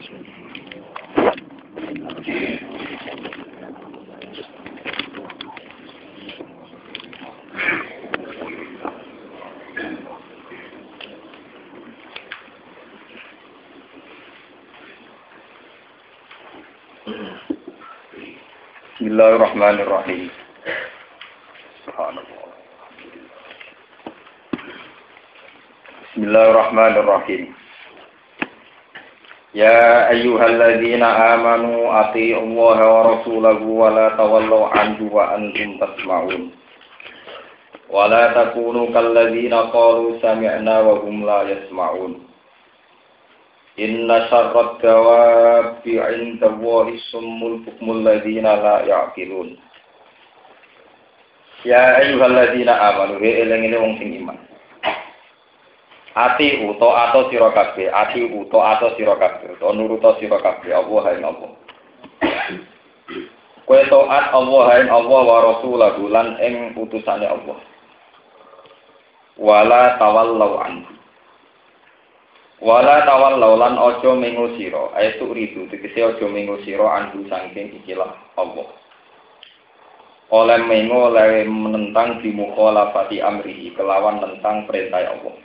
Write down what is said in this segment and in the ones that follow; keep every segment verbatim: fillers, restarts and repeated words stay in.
Bismillahirrahmanirrahim. Subhanallah. Bismillahirrahmanirrahim. Ya ayyuhalladzina amanu athi'ullaha wa rasulahu wa la tawallaw anhu wa antum tasma'un. Wa la takunu kalladzina qalu sami'na wa hum la yasma'un. Inna syarrad dawabi 'inda Allahi summul bukmul ladzina la ya'qilun. Ya ayyuhalladzina amanu eling-eling wong sing iman. Ati uto ato sira kabeh, ati uto ato sira kabeh, to nuruta sira kabeh Allah ing Allah. Kowe taat Allah ing Allah wa rasulahu lan ing utusane Allah. Wala tawallau anhu. Wala tawallaw lan aja mengo sira, ayatu ridu tegese aja mengo sira andu saking ikilah Allah. Oleh mengo oleh menentang di mukhalafati amrihi kelawan tentang perintah Allah.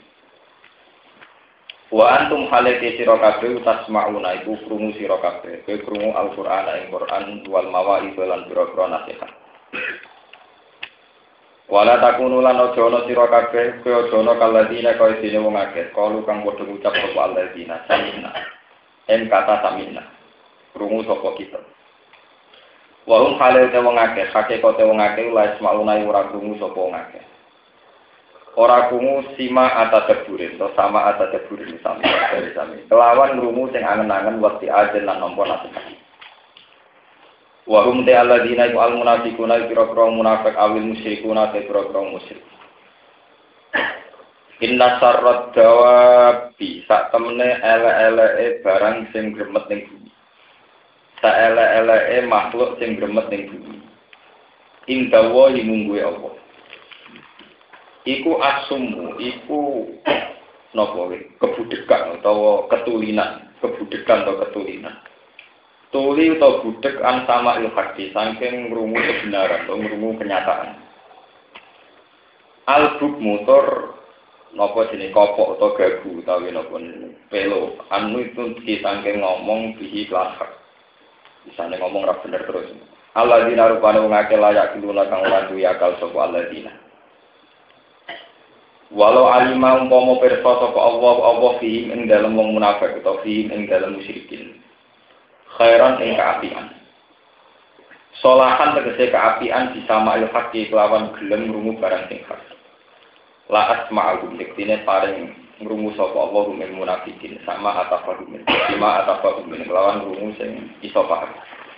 Wa antum halati sira kabeh tasma'una iku krungu sira kabeh, kowe krungu Al-Qur'an ing Qur'an wal mawa'idh lan pira-pira nasihat. Wala takunu lan aja ana sira kabeh kaya aja ana kaladzina kaya dene wong akeh kalu kang padha ngucap sapa alladzina samina en kata samina krungu sapa kita wa hum halil te wong akeh hakikate wong akeh la ismauna ora krungu sapa wong akeh ora krungu sima atadabure to sama atadabure sami dari sami kelawan krungu sing angen-angen wekti ajen lan nampa nasihat. Wa hum ta alladzina al munafiquna kira-kira munafik awil musyrikuna kira-kira musyrik. Inna sarrat dawabi sak temene ele-eleke barang sing gremet ning bumi. Sak ele-eleke makhluk sing gremet ning bumi. Ing dawa mungguhe apa? Iku asumu, iku napa wae? Kebudekan utawa ketulinan, kebudekan atau ketulinan. Tuli atau budek an sama ilhaqi saking ngrungu kebenaran atau ngrungu kenyataan. Albuk motor napa jenenge kopok atau gagu utawi napa pelo anu itu di saking ngomong bihi lahak. Bisane ngomong ra bener terus. Alladzina rupane wong akeh layak diluna kang ora duwe akal sapa alladzina. Walau alima umpama pirsa sapa Allah Allah fi ing dalem wong munafik utawa fi ing dalem musyrikin. Khairan ing kaapian. Solahan tegese kaapian disama ilhaqi kelawan gelem ngrungu barang sing hak. La asma'u diktine paring ngrungu sapa Allah rumeng munafikin sama atafa rumeng. Sima atafa rumeng kelawan ngrungu sing iso paham.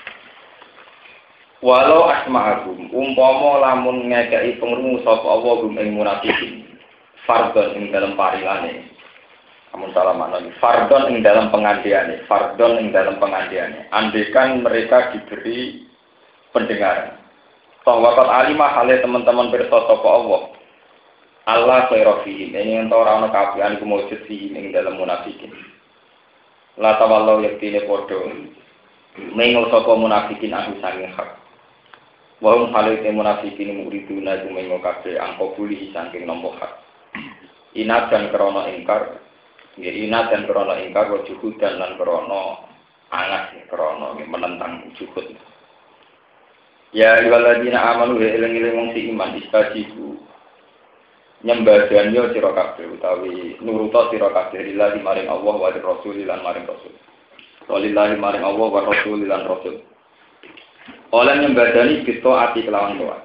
Walau asma'u umpama lamun ngekeki pengrungu sapa Allah rumeng munafikin. Fardhon ing dalem paringane. Amun salah maknanya, fardon ing dalam pengandiannya, fardon ing dalam pengandiannya. Andekan mereka diberi pendengaran. Toh wakat alimah halnya teman-teman bersosok Allah. Allah khairofihim. Ini yang tahu orang kafian kemujud fihim ing dalam munafikin. La tawallau yaktine podo. Mengo soko munafikin aku sanging hak. Wahum halnya munafikin muriduna jumengo kafe angko buli sangking nombok hak. Inat dan krono ingkar. Ya inat dan krono ingkar wa juhud dan lan krono angat krono menentang juhud. Ya ayyuhalladzina amanu eling-eling wong si iman istajibu nyembadhan yo sira kabeh utawi nuruta sira kabeh lillahi maring Allah wa rasul lan maring rasul. Walillahi maring Allah wa rasul lan rasul. Oleh nyembadani kita ati kelawan doa.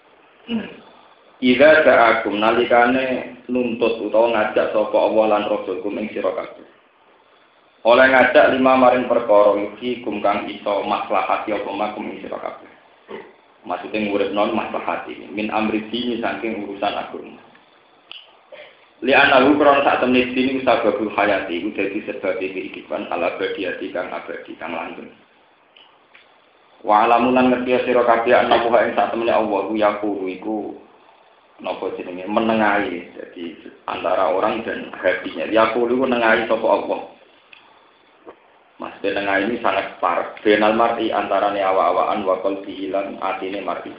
Ida sa'akum nalikane nuntut utawa ngajak sapa Allah lan Rasul kum ing sira kabeh. Oleh ngajak lima maring perkara iki kum kang iso maslahati apa makum ing sira kabeh. Maksude nguripno maslahati min amri dini saking urusan agama. Li anahu krono sak temne dini sababul hayati iku dadi sebab kehidupan ala abadiyati kang abadi kang langgeng. Wa alamunan ngerti sira kabeh ana buha ing sak temne Allah ku yaqulu iku napa jenenge menengahi jadi antara orang dan hatinya. Yaqulu menengahi sapa Allah. Mas dan ini sangat parah. Benal mar'i antarane awa-awaan wa qalbi hilang atine mar'i.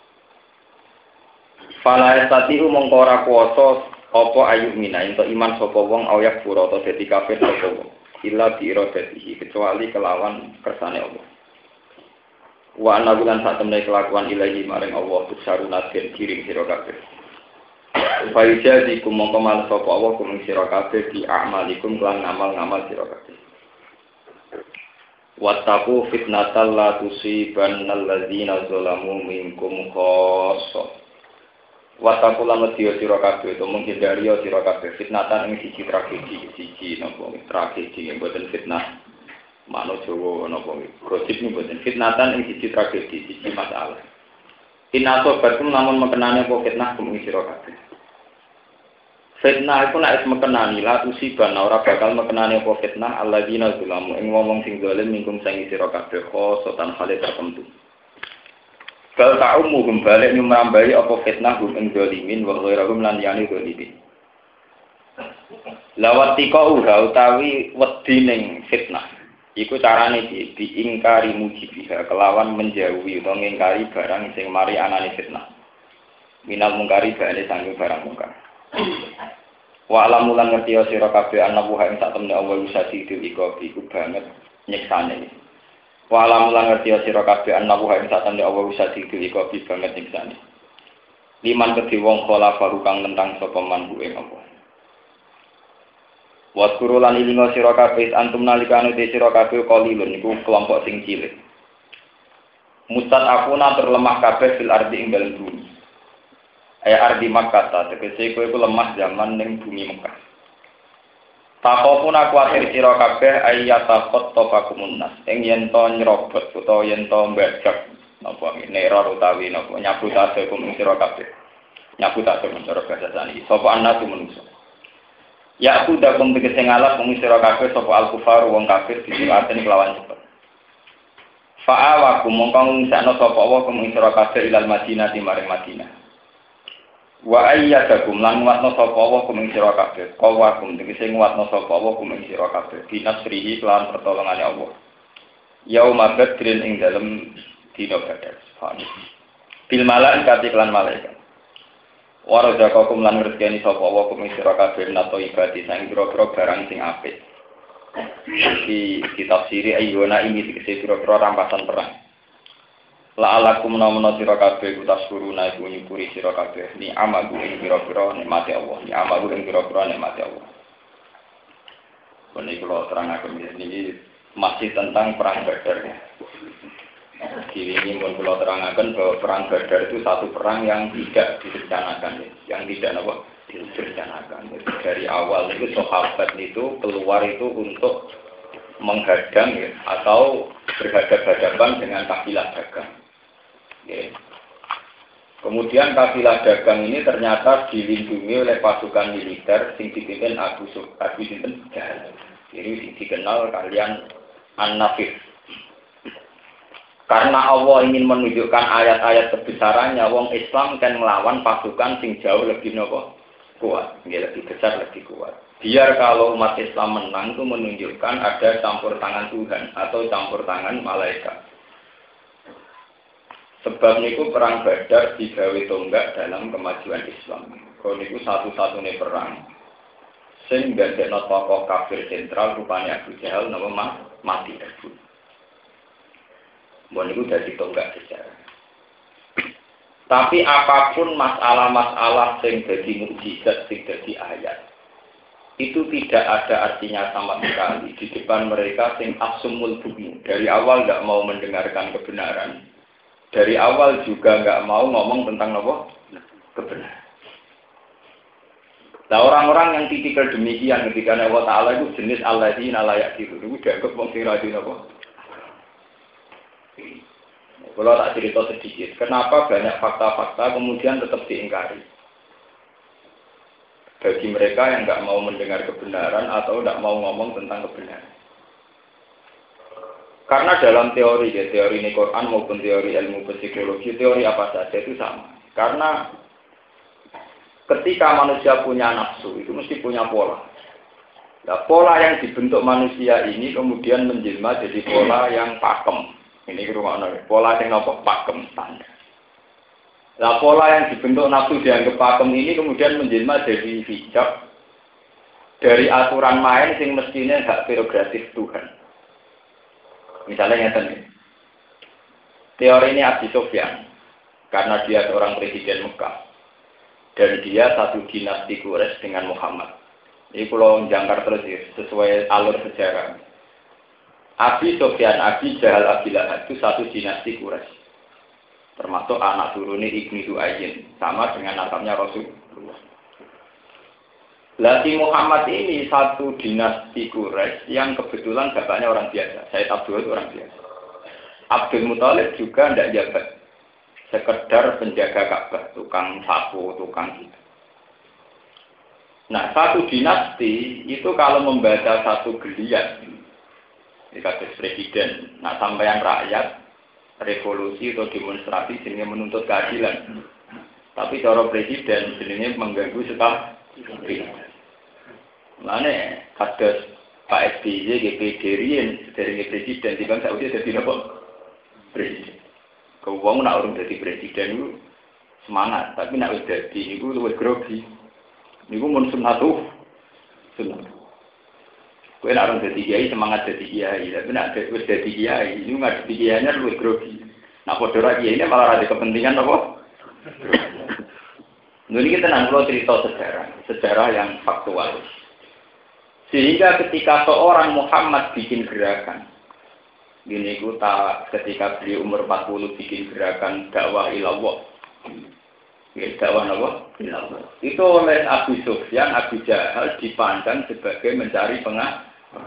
Fala estati mongko ora kuwasa apa ayu mina ento iman sapa wong ayak pura ta dadi kafir sapa wong. Illa bi iradatihi kecuali kelawan kersane Allah. Wa ana bulan sak temne kelakuan ilahi maring Allah tusaruna den kiring sira kabeh. Faijazikum mongko mal sapa Allah kum sira kabeh di amalikum lan ngamal-ngamal sira kabeh. Wattaqu fitnatal la tusibannal ladzina zalamu minkum khassah. Wattaqu lan wedya sira kabeh to menghindari sira kabeh fitnatan ing siji tragedi siji napa tragedi ing boten fitnah mano Jawa napa gosip ing boten fitnatan ing siji tragedi siji masalah. Inaso batum namun mekenane apa fitnah kum sira kabeh. Fitnah iku nek mekenani la tusiban ora bakal mekenani apa fitnah alladzina zalamu ing wong sing zalim mingkum sing sira kabeh khosotan hale tertentu. Bal ta'umuhum balik nyumrambai apa fitnah hum ing zalimin wa ghairahum lan yani zalimin. Lawat tika uha utawi wedi ning fitnah. Iku carane di diingkari mujibiha kelawan menjauhi utawa ngingkari barang sing mari anane fitnah. Minal mungkari bane sanging barang mungkar. Wa alamu lan ngerti sira kabeh ana buha ing sak temne Allah usati iku iku banget nyiksane. Wa alam lan ngerti sira kabeh ana wa ing satemene Allah usati iku bi banget nyiksane. Liman kedhi wong kala baru kang nentang sapa man ing apa. Wa guru lan ilinga sira kabeh antum nalikane te sira kabeh qalilun iku kelompok sing cilik. Mustad akuna terlemah kabeh fil ardi ing dalem bumi. Aya ardi Makkah ta tegese kowe iku lemah zaman ning bumi Mekah. Takopun aku akhir sira kabeh ayata khotofakumun nas ing yen to nyrobot utawa yen to mbajak napa neror utawi napa nyabut ate kum sira kabeh nyabut ate mencara bahasa sani sapa anak manusa ya aku dakum tegese ngalap kum sira kabeh sapa al kufar wong kafir disiraten kelawan cepet fa'awakum mongkon sakno sapa wa kum sira kabeh ilal Madinah di maring Madinah. Wa ayyadakum lan watno sapa wa kum sira kabeh qawakum tegese watno sapa wa kum sira kabeh binasrihi lan pertolongane Allah yauma badrin ing dalem dina badar fani bil malaikati lan malaikat wa razaqakum lan rezekani sapa wa kum sira kabeh nato ibadi sang pira-pira barang sing apik iki ditafsiri ayyuna ini tegese pira-pira rampasan perang. La'alakum namana sira kabeh utasuruna iku nyukuri sira kabeh ni amagu ing pira-pira nikmate Allah ni amagu ing pira-pira nikmate Allah. Menika kula terangaken niki masih tentang perang Badar. Jadi ini pun kula terangaken bahwa perang Badar itu satu perang yang tidak direncanakan, yang tidak apa direncanakan. Dari awal itu sahabat itu keluar itu untuk menghadang ya, atau berhadapan dengan kafilah dagang. Ya. Kemudian kafilah dagang ini ternyata dilindungi oleh pasukan militer sing dipimpin Abu Abu Sinten Jahal. Ini dikenal kalian An-Nafir. Karena Allah ingin menunjukkan ayat-ayat kebesarannya, wong Islam kan melawan pasukan sing jauh lebih nopo kuat, ya, lebih besar, lebih kuat. Biar kalau umat Islam menang itu menunjukkan ada campur tangan Tuhan atau campur tangan malaikat. Sebab niku perang Badar digawe tonggak dalam kemajuan Islam. Kalau niku satu-satunya perang sing gandekno tokoh kafir sentral rupanya Abu Jahal nama mati tersebut. Mbon niku dadi tonggak sejarah. Tapi apapun masalah-masalah sing dadi mukjizat sing dadi ayat itu tidak ada artinya sama sekali di depan mereka sing asumul bumi. Dari awal enggak mau mendengarkan kebenaran. Dari awal juga enggak mau ngomong tentang apa? Kebenaran. Nah, orang-orang yang tipikal demikian ketika Allah Ta'ala itu jenis alladzina la ya'qilun. Itu dianggap wong sing ra dina apa? Kalau tak cerita sedikit, kenapa banyak fakta-fakta kemudian tetap diingkari? Bagi mereka yang enggak mau mendengar kebenaran atau enggak mau ngomong tentang kebenaran. Karena dalam teori, ya, teori ini Quran maupun teori ilmu psikologi, teori apa saja itu sama. Karena ketika manusia punya nafsu, itu mesti punya pola. Nah, pola yang dibentuk manusia ini kemudian menjelma jadi pola yang pakem. Ini rumah pola yang apa? Pakem standar. Nah, pola yang dibentuk nafsu dianggap pakem ini kemudian menjelma jadi hijab dari aturan main sing mestinya hak prerogatif Tuhan. Misalnya yang tadi, teori ini Abi Sufyan, karena dia seorang presiden Mekah dan dia satu dinasti Quraisy dengan Muhammad. Ini kalau jangkar terus ya, sesuai alur sejarah. Abi Sufyan, Abi Jahal, Abi Lahab itu satu dinasti Quraisy. Termasuk anak turunnya Ibnu Du'ayyin, sama dengan nasabnya Rasulullah. Lati Muhammad ini satu dinasti Quraisy yang kebetulan bapaknya orang biasa. Sayyid Abdul itu orang biasa. Abdul Muthalib juga tidak jabat. Sekedar penjaga Ka'bah, tukang sapu, tukang gitu. Nah, satu dinasti itu kalau membaca satu geliat, dikatakan presiden, nah sampeyan rakyat, revolusi atau demonstrasi jenisnya menuntut keadilan. Tapi cara presiden jenisnya mengganggu sekali. Mana kados Pak S B Y, G P D Rien, dari presiden, di bangsa Saudi jadi apa? Presiden. Keuang nak orang jadi presiden itu semangat, tapi nak jadi itu lebih grogi. Niku mun sunnatuh, sunnah. Kowe nek orang dadi kiai semangat dadi kiai, tapi nek wis dadi kiai, niku ngadepi kiainya luwih grogi. Nah padha ra kiai malah ada kepentingan apa? Ini kita nanggung cerita sejarah, sejarah yang faktual. Sehingga ketika seorang Muhammad bikin gerakan, gini ku tak ketika beliau umur empat puluh bikin gerakan dakwah ilallah. Ya, dakwah apa? Itu oleh Abu Sufyan, Abu Jahal dipandang sebagai mencari pengah.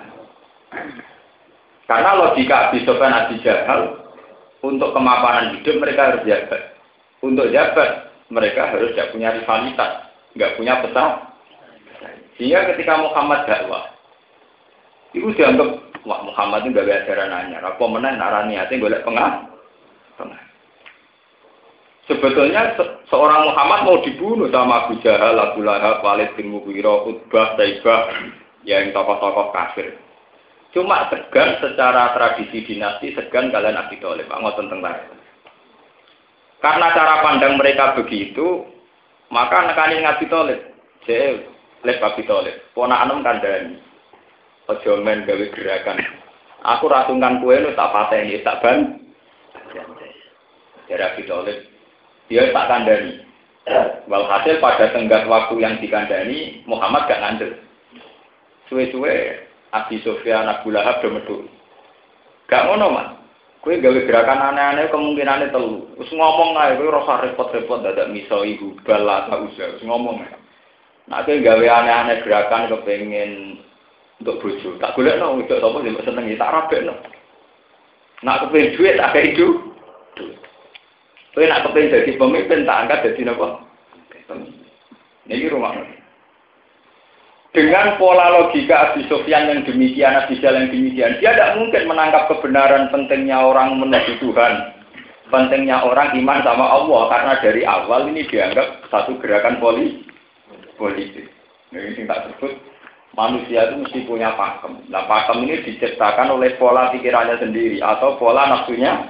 Karena logika Abu Sufyan, Abu Jahal untuk kemapanan hidup mereka harus jabat. Untuk jabat mereka harus tidak punya rivalitas, nggak punya pesan. Sehingga ketika Muhammad dakwah, itu dianggap wah Muhammad itu nggak ada ajaran anyar. Apa menang narani hati golek pengah. Pengah. Sebetulnya se seorang Muhammad mau dibunuh sama Abu Jahal, Abu Lahab, Walid bin Mughirah, Utbah, Saibah, yang tokoh-tokoh kafir. Cuma segan secara tradisi dinasti, segan kalian Abi Thalib, ngoten tentang. Karena cara pandang mereka begitu, maka nekani Abi Thalib, je lek Abi Thalib, ponakan kandhani. Aja men gawe gerakan. Aku ratungan kowe lu tak pateni, tak ban. Jadi Abi Thalib dia tak kandani. Walhasil pada tenggat waktu yang dikandani, Muhammad gak ngandel. Suwe-suwe Abi Sufyan, Abu Lahab do medhun. Gak ngono, Mas. Kowe gawe gerakan aneh-aneh kemungkinane telu. Wis ngomong ae kowe rasa repot-repot dadak miso ibu bal ta usah. Wis ngomong. Nek kowe gawe aneh-aneh gerakan kepengin untuk bojo, tak golekno wedok sapa sing seneng tak rabekno. Nek kepengin duit tak kei duit. Kowe nak kepengin dadi pemimpin tak angkat dadi napa? Pemimpin. Niki rumah. Dengan pola logika Abi Sufyan yang demikian, Abi Jahal yang demikian, dia tidak mungkin menangkap kebenaran pentingnya orang menuju Tuhan, pentingnya orang iman sama Allah, karena dari awal ini dianggap satu gerakan poli politik. Ini yang tak sebut manusia itu mesti punya pakem. Nah pakem ini diciptakan oleh pola pikirannya sendiri atau pola nafsunya.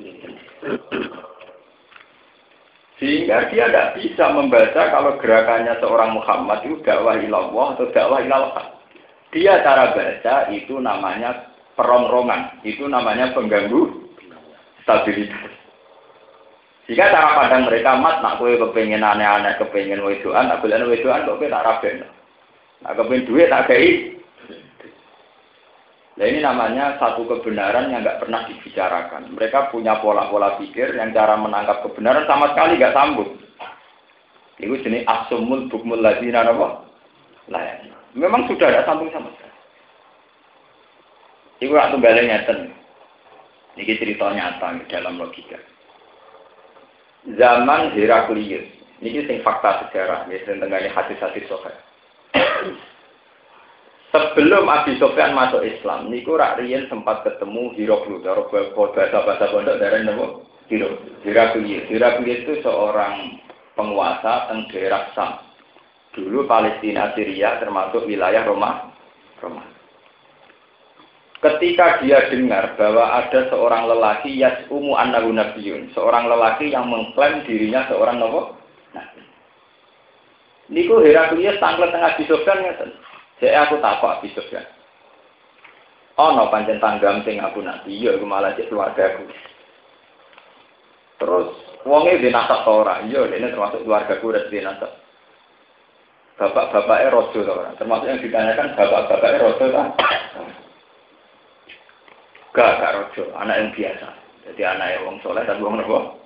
Sehingga dia tidak bisa membaca kalau gerakannya seorang Muhammad itu dakwah ilallah atau dakwah ilallah. Dia cara baca itu namanya perongrongan, itu namanya pengganggu stabilitas. Sehingga cara pandang mereka mat, nak kowe kepengen aneh-aneh, kepengen wedoan, tak boleh wedoan, kok kowe tak raben. Nak kepengen duit tak kei. Nah ini namanya satu kebenaran yang nggak pernah dibicarakan. Mereka punya pola-pola pikir yang cara menangkap kebenaran sama sekali nggak sambung. Itu jenis asumul bukmul ladzina apa? Lah, memang sudah ada sambung sama sekali. Iku rak tunggale ngeten. Niki cerita nyata dalam logika. Zaman Heraklius, niki sing fakta sejarah, ya sing tengene hadis-hadis sahih. Sebelum Abi Sufyan masuk Islam, niku rak riyen sempat ketemu Heraklius, cara bahasa-bahasa pondok darane napa? Heraklius. Heraklius itu seorang penguasa teng daerah Sam. Dulu Palestina, Syria termasuk wilayah Roma. romantis. Ketika dia dengar bahwa ada seorang lelaki yas'umu annahu nabiyyun, seorang lelaki yang mengklaim dirinya seorang nabi. Niku Heraklius tanglet tengah Abi Sufyan ngeten. Jek aku takok Abi Sufyan. Ana pancen tanggam sing aku nabi, ya iku malah cek keluargaku. Terus wonge dhewe nasab ta ora? Iya, dene termasuk keluargaku ora dhewe nasab. Bapak-bapake raja ta ora? Termasuk yang ditanyakan bapak-bapake raja ta? Gak, gak rojo, anak yang biasa. Jadi anak yang wong soleh dan wong nopo.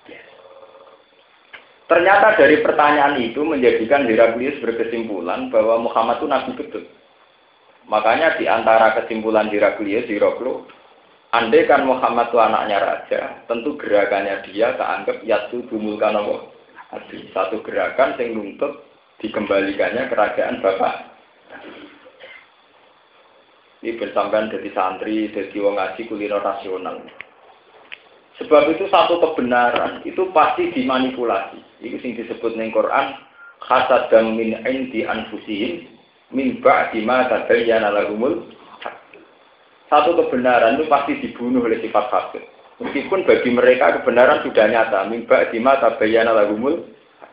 Ternyata dari pertanyaan itu menjadikan Heraklius berkesimpulan bahwa Muhammad itu nabi betul. Makanya di antara kesimpulan Heraklius, Heraklius, andai kan Muhammad itu anaknya raja, tentu gerakannya dia keanggap yaitu dumulkan nopo. Satu gerakan yang nuntut dikembalikannya kerajaan bapak. Ini bersamaan dari santri, dari wong ngaji kuliner rasional. Sebab itu satu kebenaran itu pasti dimanipulasi. Itu yang disebut ning Quran hasadam min indi anfusihim min ba'di ma tabayyana lahumul haq. Satu kebenaran itu pasti dibunuh oleh sifat hasad. Meskipun bagi mereka kebenaran sudah nyata min ba'di ma tabayyana lahumul.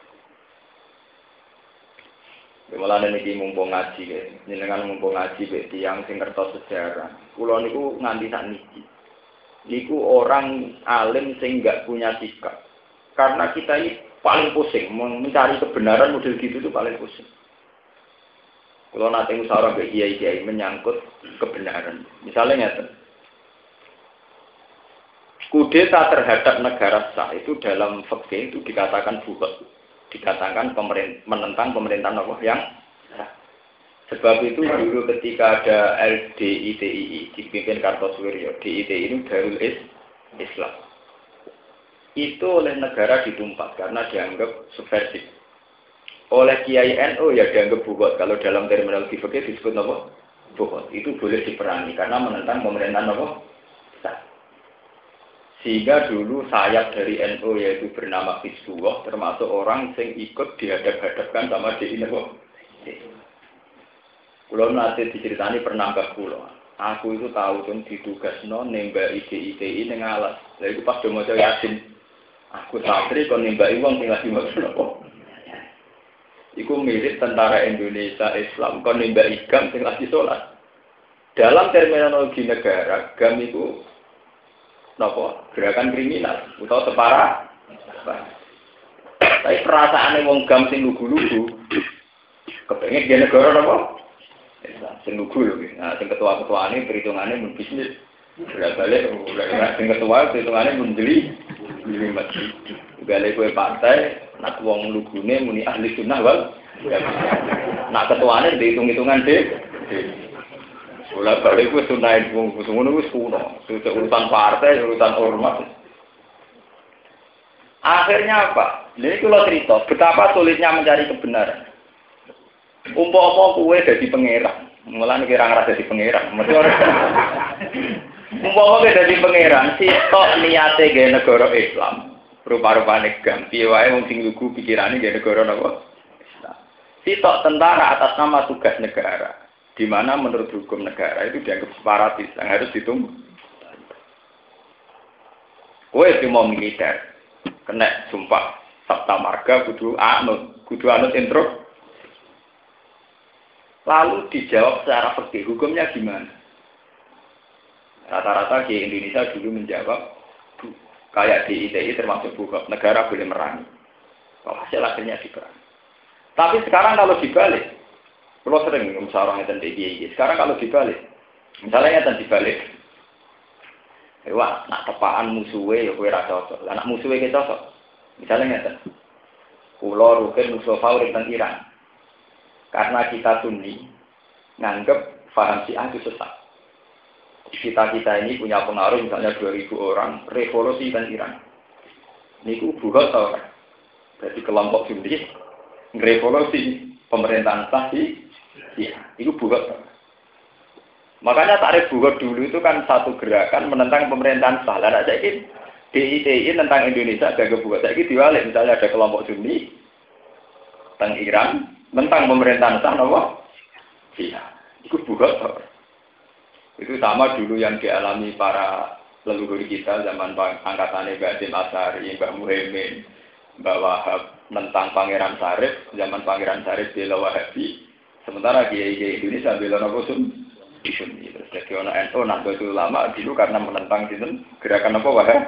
Mulane niki mumpung ngaji nggih, jenengan mumpung ngaji mek tiyang sing ngertos sejarah. Kula niku nganti sakniki. Niku orang alim sing enggak punya sikap. Karena kita ini paling pusing mencari kebenaran model gitu itu paling pusing. Kula nate musyawarah mbek kiai-kiai menyangkut kebenaran. Misalnya ngeten. Kudeta terhadap negara sah itu dalam fikih itu dikatakan buhut. Dikatakan pemerintah, menentang pemerintahan Allah yang sah. Sebab itu dulu ketika ada L D I T I I dipimpin Kartosuwiryo, D I T I ini Darul Islam. Itu oleh negara ditumpas karena dianggap subversif. Oleh Kiai N U ya dianggap buhut. Kalau dalam terminologi fikih disebut apa? Buhut. Itu boleh diperangi karena menentang pemerintahan Allah sah. Sehingga dulu sayap dari N U yaitu bernama Hizbullah termasuk orang yang ikut dihadap-hadapkan sama D I N U. Kulo nanti diceritani pernah mbah kulo. Aku itu tahu tuh ditugasno nembaki D I T I ning alas. Lha iku pas do maca Yasin. Aku santri kon nembaki wong sing lagi maca napa. Iku mirip tentara Indonesia Islam kon nembaki gam sing lagi salat. Dalam terminologi negara, gam itu napa? Gerakan kriminal utawa separa. Tapi perasaane wong gam sing lugu-lugu kepengin dia negara napa? Sing lugu lho. Nah, sing ketua-ketuane perhitungane mun bisnis. Balik sing ketua perhitungane mun jeli. Jeli mati. Gale kowe partai nak wong lugune muni ahli sunnah wal. Nak ketuane dihitung-hitungan dhewe. Bola balik wis sunah wong ngono wis kuno. Urusan partai, urusan ormas. Akhirnya apa? Ini kalau cerita betapa sulitnya mencari kebenaran. Umpama kowe dadi pangeran, mulane kira ngrasa dadi pangeran. Umpama kowe dadi pangeran, sitok niate gawe negara Islam. Rupa-rupane gam piye wae wong sing lugu pikirane gawe negara napa? Islam. Sitok tentara atas nama tugas negara. Di mana menurut hukum negara itu dianggap separatis yang harus ditunggu. Kowe mau militer, kena sumpah sabta marga kudu anut, kudu anut intro. Lalu dijawab secara fikih hukumnya gimana? Rata-rata di Indonesia dulu menjawab kayak di I T I termasuk bukan negara boleh merangi. Kalau hasil akhirnya diperangi. Tapi sekarang kalau dibalik, kalau sering musyawarah ngeten iki. Sekarang kalau dibalik, misalnya ngeten dibalik. Wah, nak tepaan musuhe ya kowe ra cocok. Lah nak musuhe ki cocok. Misalnya ngeten. Kula Rukin Mustafa urip nang Iran. Karena kita Sunni nganggep paham Syiah itu sesat. Kita-kita ini punya pengaruh misalnya dua ribu orang revolusi dan Iran. Niku buhut tau kan. Jadi kelompok Sunni revolusi pemerintahan sah di Syiah. Itu buhut. Makanya tarif buhut dulu itu kan satu gerakan menentang pemerintahan sah. Lah saya ini D I T I tentang Indonesia agak buhut. Saya ini diwalik misalnya ada kelompok Sunni tentang Iran tentang pemerintahan sah nopo Syiah. Itu bukan. Itu sama dulu yang dialami para leluhur kita zaman angkatannya Mbak Hasyim Asy'ari, Mbak Muhaimin, Mbak Wahab tentang Pangeran Sarif, zaman Pangeran Sarif bela Wahabi, sementara kiai-kiai Indonesia bela Nabi Sunni. Terus jadi orang N U Nahdlatul Ulama dulu karena menentang sinten gerakan apa Wahab.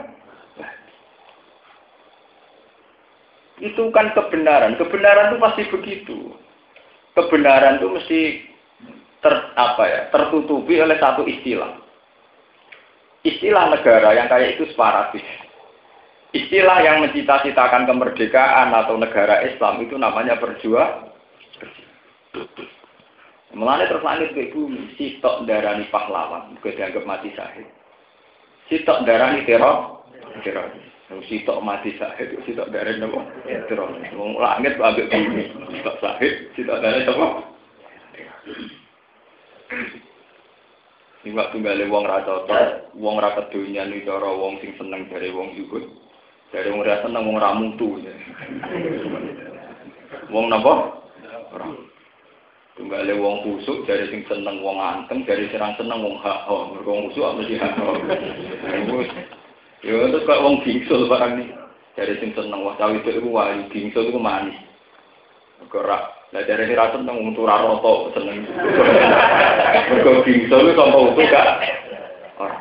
Itu kan kebenaran, kebenaran itu pasti begitu. Kebenaran itu mesti ter, apa ya, tertutupi oleh satu istilah. Istilah negara yang kayak itu separatis. Istilah yang mencita-citakan kemerdekaan atau negara Islam itu namanya berjuang. Mulane terus langit ke bumi, sitok darani pahlawan, juga dianggap mati syahid. Sitok darani teror, teror. Sitok mati syahid, sitok darani apa? Teror. Wong langit kok ambek bumi, sitok syahid, sitok darani apa? Iwak tunggale wong ra cocok, wong ra kedonya ni cara wong sing seneng dari wong zuhud. Dari wong ra seneng wong ra mutu. Wong napa? Ora. Tunggale wong kusuk dari sing seneng wong anteng, dari sing seneng wong hak. Oh, mergo wong kusuk mesti hak. Yo terus kok wong bingsul barang ni. Dari sing seneng wong cawe itu wae bingsul itu manis. Ora lah dari sing ra seneng wong ora roto seneng. Mergo bingsul itu sampe utuh gak. Ora.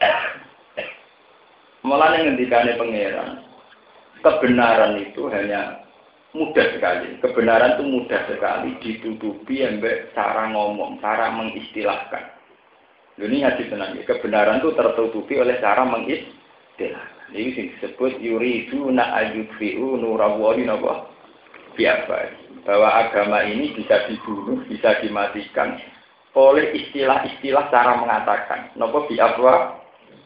Malah ngendikane pangeran. Kebenaran itu hanya mudah sekali. Kebenaran itu mudah sekali ditutupi ambek cara ngomong, cara mengistilahkan. Ini hadis tenang ya. Kebenaran itu tertutupi oleh cara mengistilahkan. Ini disebut yuriduna ayyudfi'u nurallahi napa? Biasa. Bahwa agama ini bisa dibunuh, bisa dimatikan oleh istilah-istilah cara mengatakan. Napa bi'afwa?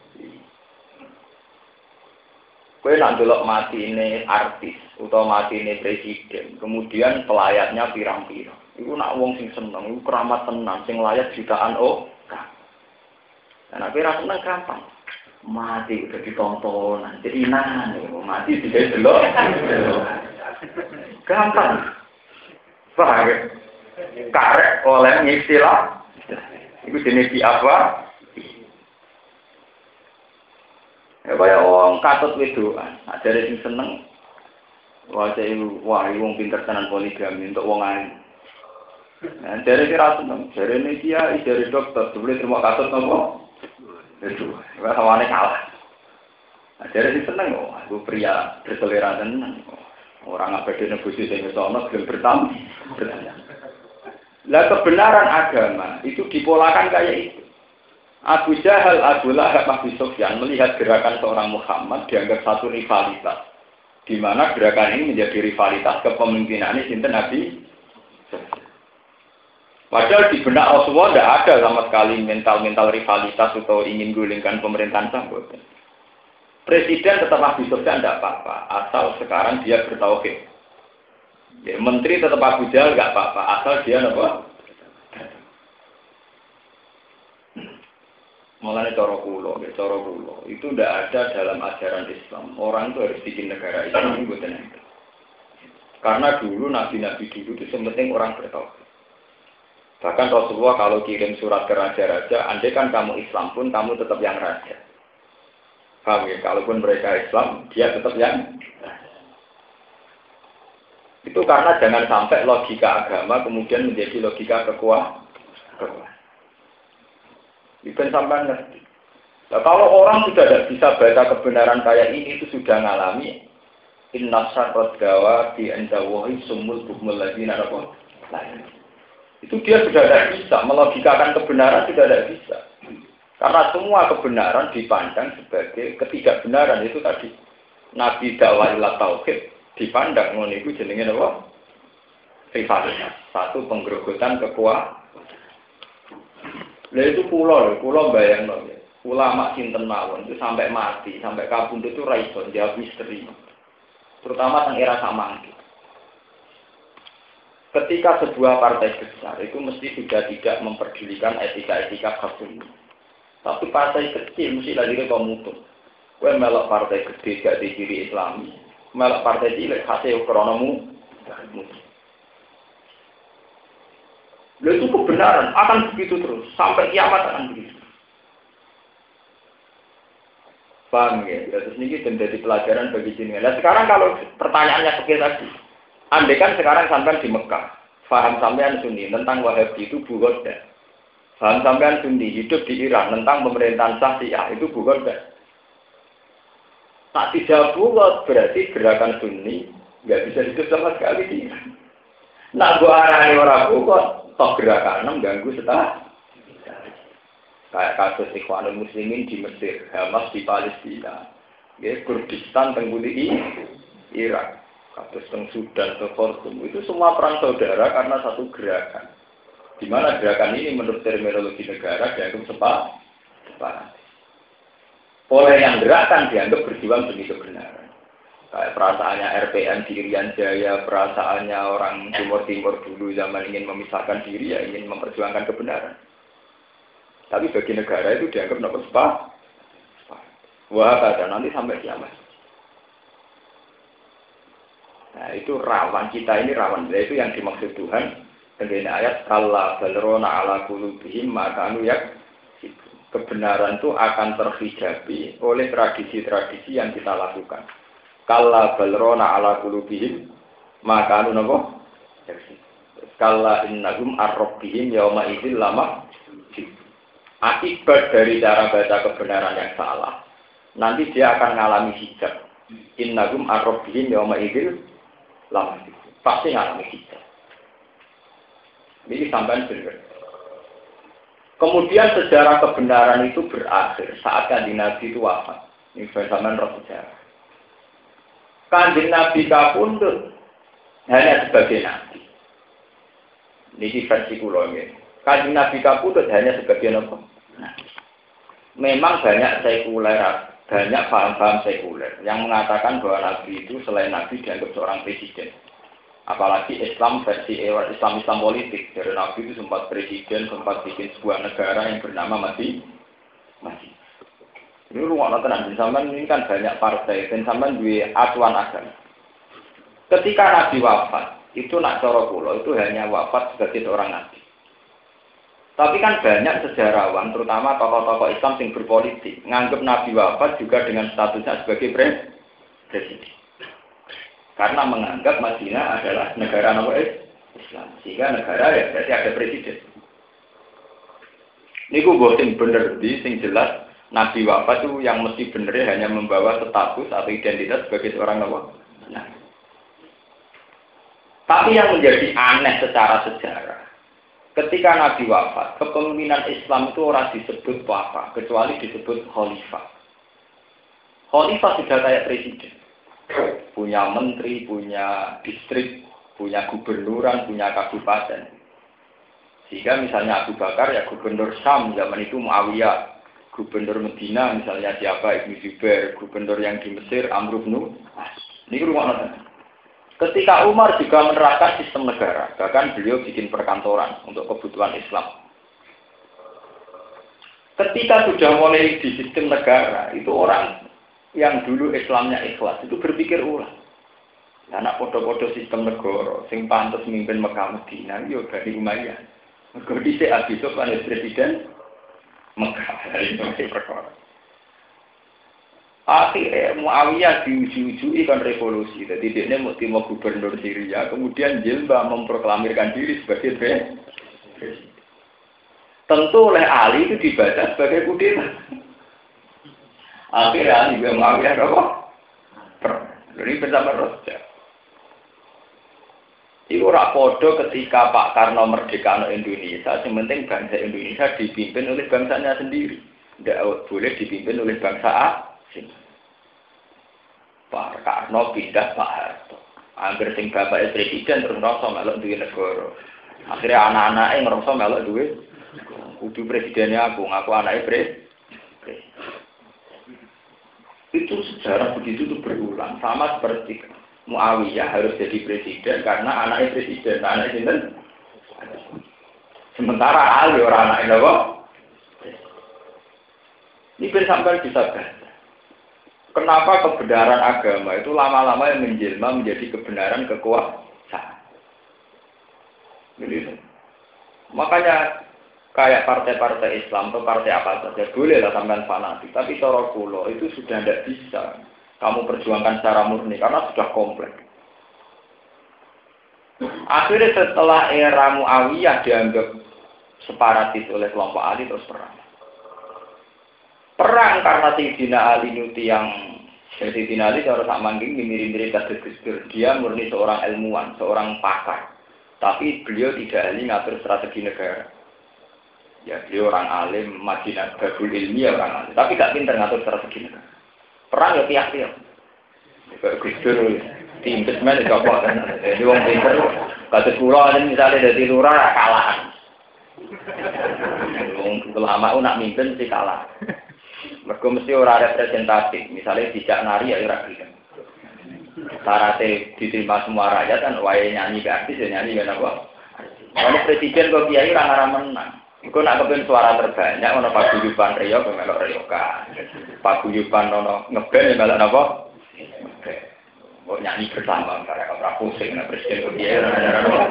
Kowe nak delok mati ini artis atau mati ini presiden, kemudian pelayatnya pirang-pirang. Iku nak wong sing seneng, iku keramat tenan, sing layak jutaan oh. Nah, nek ora seneng gampang. Mati udah ditonton, jadi nah, mati tidak delok. Gampang. Paham? Karek oleh istilah. Iku jenis apa? Ya kaya wong katut wedoan, ajare sing seneng wae wah wong pinter tenan poligami untuk wong alim. Nah, jare kira seneng, jare ne dia jare dokter, boleh terima katut napa? Itu, wah sawane kalah. Jare sing seneng kok, aku pria berselera tenan. Orang abadi nebusi sing iso ana gelem bertam. Lah kebenaran agama itu dipolakan kayak itu. Abu Jahal, Abu Lahab, Abu Sufyan melihat gerakan seorang Muhammad dianggap satu rivalitas, di mana gerakan ini menjadi rivalitas kepemimpinan ini sinten Nabi. Padahal di benak Rasulullah tidak ada sama sekali mental-mental rivalitas atau ingin gulingkan pemerintahan sampai. Presiden tetap Abu Sufyan tidak apa-apa, asal sekarang dia bertauhid. Ya, menteri tetap Abu Jahal tidak apa-apa, asal dia apa? Mulane cara kula, cara kula itu tidak ada dalam ajaran Islam. Orang itu harus bikin negara Islam itu betul. Karena dulu nabi-nabi dulu itu penting orang bertauhid. Bahkan Rasulullah kalau kirim surat ke raja-raja, andai kan kamu Islam pun kamu tetap yang raja. Paham ya? Kalaupun mereka Islam, dia tetap yang raja. Itu karena jangan sampai logika agama kemudian menjadi logika kekuasaan. Iben sampai ngerti. Nah, kalau orang sudah tidak bisa baca kebenaran kayak ini, itu sudah ngalami inna syarrad dawa bi andawahi sumul bukmul ladina rabbul lain. Itu dia sudah tidak bisa melogikakan kebenaran, sudah tidak bisa. Karena semua kebenaran dipandang sebagai ketidakbenaran itu tadi. Nabi dakwah ila tauhid dipandang ngono iku jenenge apa? Rivalitas. Satu penggerogotan kekuasaan. Lah itu kula lho, kula bayangno ya. Ulama sinten mawon itu sampai mati, sampai kabundut itu ra iso jawab misteri. Terutama teng era samangke. Ketika sebuah partai besar itu mesti sudah tidak memperdulikan etika-etika hukum. Tapi partai kecil mesti lagi komutur. Kowe melok partai gede gak di ciri Islami, melok partai cilik hasil kronomu. Lalu itu kebenaran akan begitu terus sampai kiamat akan begitu. Paham ya? Terus ini jadi pelajaran bagi jenengan. Nah sekarang kalau pertanyaannya seperti tadi, andai kan sekarang sampai di Mekah, paham sampean Sunni tentang Wahabi itu bugoda. Paham sampean Sunni hidup di Iran tentang pemerintahan Syiah itu bugoda. Tak tidak bugot berarti gerakan Sunni nggak bisa hidup sama sekali di Iran. Nah gua arahnya orang bugot, toh gerakan mengganggu setelah. Kayak kasus Ikhwanul Muslimin di Mesir, Hamas di Palestina, ya, Kurdistan tengguti Irak, kasus teng Sudan, teng Khartoum, itu semua perang saudara karena satu gerakan. Di mana gerakan ini menurut terminologi negara dianggap sepa, separat. Oleh yang gerakan dianggap berjuang demi kebenaran. Kayak perasaannya R P M di Irian Jaya, perasaannya orang Timur Timur dulu zaman ingin memisahkan diri, ya ingin memperjuangkan kebenaran. Tapi bagi negara itu dianggap nopo spa. Wah, kata nanti sampai kiamat. Nah, itu rawan kita ini rawan. Itu yang dimaksud Tuhan dengan ayat kalla balrona ala qulubihim maka anu yak kebenaran itu akan terhijabi oleh tradisi-tradisi yang kita lakukan. Kalla balrona ala qulubihim maka anu napa? Kalla innahum ar-rabbihim yauma idzil lama. Akibat dari cara baca kebenaran yang salah, nanti dia akan mengalami hijab. Innahum ar-rabbihim yawma idzil lam. Pasti mengalami hijab. Ini sampai benar. Kemudian sejarah kebenaran itu berakhir saat Kanjeng Nabi itu wafat. Ini zaman roh sejarah. Kanjeng Nabi kapundhut hanya sebagai nabi. Ini versi kula nggih. Kanjeng Nabi kapundhut hanya sebagai apa? Nah, memang banyak sekuler, banyak paham-paham sekuler yang mengatakan bahwa Nabi itu selain Nabi dianggap seorang presiden. Apalagi Islam versi Islam Islam politik. Dari Nabi itu sempat presiden, sempat bikin sebuah negara yang bernama Masih Masih. Ini ruang tenan. Zaman ini kan banyak partai, dan zaman dua acuan agama. Ketika Nabi wafat, itu nak cara kula itu hanya wafat sebagai seorang Nabi. Tapi kan banyak sejarawan, terutama tokoh-tokoh Islam yang berpolitik, nganggap Nabi wafat juga dengan statusnya sebagai presiden. Karena menganggap Madinah adalah negara Islam. Sehingga negara ya berarti ada presiden. Ini gue bosen bener di, sing jelas Nabi wafat itu yang mesti bener hanya membawa status atau identitas sebagai seorang Nabi. Nah. Tapi yang menjadi aneh secara sejarah, ketika Nabi wafat, kepemimpinan Islam itu orang disebut apa, kecuali disebut khalifah. Khalifah sudah kayak presiden. Punya menteri, punya distrik, punya gubernuran, punya kabupaten. Sehingga misalnya Abu Bakar ya gubernur Syam, zaman itu Muawiyah. Gubernur Medina misalnya siapa, Ibnu Zubair. Gubernur yang di Mesir, Amr bin As. Ini rumah nonton. Ketika Umar juga menerapkan sistem negara, bahkan beliau bikin perkantoran untuk kebutuhan Islam. Ketika sudah mulai di sistem negara, itu orang yang dulu Islamnya ikhlas, itu berpikir ulang. Anak podo-podo sistem negara, sing pantas mimpin Mekah Medina, yo Bani Umayyah. Mergo dhisik Abi Sufyan presiden Mekah, dari itu perkara. Akhirnya Muawiyah diuji-uji kan revolusi. Jadi dia mau timur gubernur Syria, kemudian Jilbah memproklamirkan diri sebagai presiden. Tentu oleh Ali itu dibaca sebagai kudeta. Akhirnya Ali juga Muawiyah apa? Jadi bersama Raja. Itu rapodo ketika Pak Karno merdeka Indonesia, yang penting bangsa Indonesia dipimpin oleh bangsanya sendiri. Tidak boleh dipimpin oleh bangsa asing. Pak Karno pindah Pak Harto. Angger sing bapake presiden terus ngerasa melok duwe negara. Akhirnya anak-anake ngerasa melok duwe kudu presidennya aku, ngaku anake presiden. Itu sejarah begitu tuh berulang, sama seperti Muawiyah harus jadi presiden karena anaknya presiden, anaknya sinten? Sementara Ali orang anaknya apa? Ini ben sampai bisa baca. Kenapa kebenaran agama itu lama-lama yang menjelma menjadi kebenaran kekuasaan? Jadi, Makanya kayak partai-partai Islam atau partai apa saja boleh lah sampean fanatik, tapi cara kula itu sudah tidak bisa kamu perjuangkan secara murni karena sudah kompleks. Akhirnya setelah era Muawiyah dianggap separatis oleh kelompok Ali terus perang. Perang karena Sayyidina Ali nyuti yang Sayyidina Ali cara sak mangking mirip-mirip kados Gus Dur. Dia murni seorang ilmuwan, seorang pakar. Tapi beliau tidak ahli ngatur strategi negara. Ya beliau orang alim, Madinah Babul Ilmi ya orang alim. Tapi gak pintar ngatur strategi negara. Perang ya tiap-tiap. Kayak Gus Dur, tim kesmen itu apa kan? Jadi wong pinter, kados kula misalnya dari lurah kalah. Wong ulama nak mimpin sih kalah. Mergo mesti ora representatif. Misalnya dijak nari ya ora gelem. Syaratnya diterima semua rakyat kan wae nyanyi ke artis ya nyanyi kan apa. Kalau presiden kok kiai ora ngara menang. Iku nak kepen suara terbanyak ono paguyuban Rio ke melok Rioka. Paguyuban ono ngeband ya melok napa? Oke. Kok nyanyi bersama karena ora pusing nek presiden kok kiai ora ngara apa.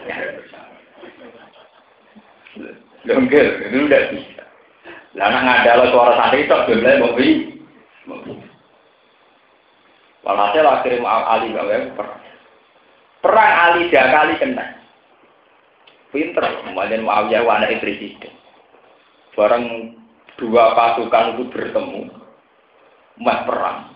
Longgel, itu udah bisa. Lah nak ngadalo suara santri tok jumlahe mbok wi. Walhasil akhirnya Ali gawe perang. Perang Ali tiga kali kena. Pinter, kemudian Muawiyah anak presiden. Barang dua pasukan itu bertemu, mas perang.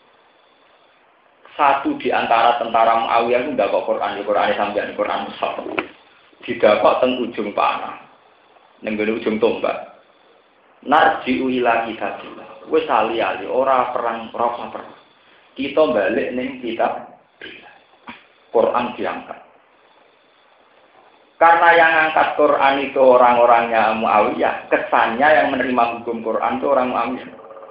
Satu di antara tentara Muawiyah itu ndakok Quran, di Quran sampeyan Quran Mushaf. Didakok teng ujung panah. Ning ujung tombak. Narji'u ila kitabillah. Wis ali-ali ora perang, ora perang. Kita balik ning kitab Quran diangkat. Karena yang angkat Quran itu orang-orangnya Muawiyah, kesannya yang menerima hukum Quran itu orang Muawiyah.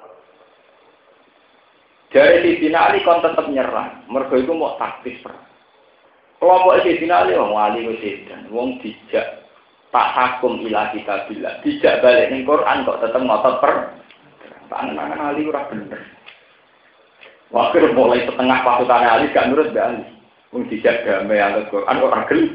Dari Sayyidina Ali kon tetap nyerang, mergo iku mau taktis perang. Kelompok Sayyidina Ali wong Ali wis edan, wong dijak tak hakum ila kitabillah, dijak balik ning Quran kok tetep ngotot per. Tangan-tangan Ali ora bener. Waktu mulai setengah pasukan Ali gak nurut be Ali. Wong dijak damai yang Quran kok ora gelem.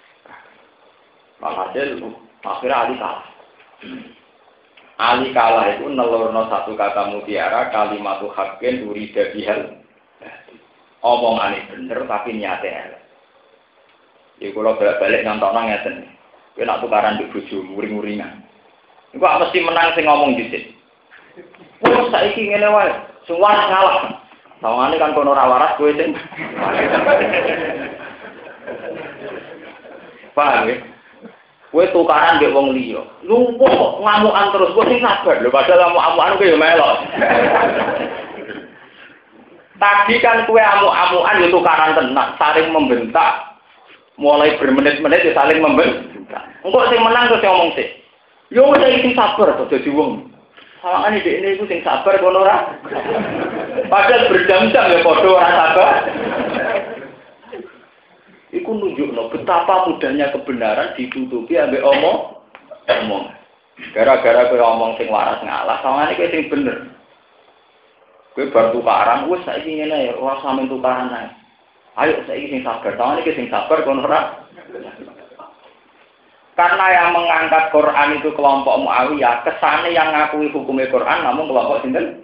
Walhasil akhirnya Ali kalah. Ali kalah itu nelurno satu kata mutiara kalimatu haqqin urida bihal. Omongane bener tapi niate elek. Ya kula balik nyontokno ngeten. Kowe nak tukaran mbek bojomu uring-uringan. Iku mesti menang sing ngomong dhisik. Wes saiki ngene wae, sing waras ngalah. Sawangane kan kono ora waras kowe sing. Paham ya? Kowe tukaran mbek wong liya. Lumpuh kok ngamukan terus kowe sing sabar lho padahal ngamuk-amukan kowe ya melok. Tadi kan kowe amuk-amukan yo tukaran tenan, saling membentak. Mulai bermenit-menit ya saling membentak. Engko sing menang terus ngomong sih. Yo wis iki sabar to dadi wong. Sawangane dhekne iku sing sabar kono ora. Padahal berjam-jam ya padha ora sabar. Iku nunjukno betapa mudahnya kebenaran ditutupi ambek omong omong. Gara-gara kowe omong sing waras ngalah, sawangane kowe sing bener. Kowe bar tukaran wis saiki ngene ya ora sampe tukaran ae. Ayo saiki sing sabar, sawangane kowe sing sabar kono ora. Karena yang mengangkat Quran itu kelompok Muawiyah, kesane yang ngakui hukumnya Quran namun kelompok sinten?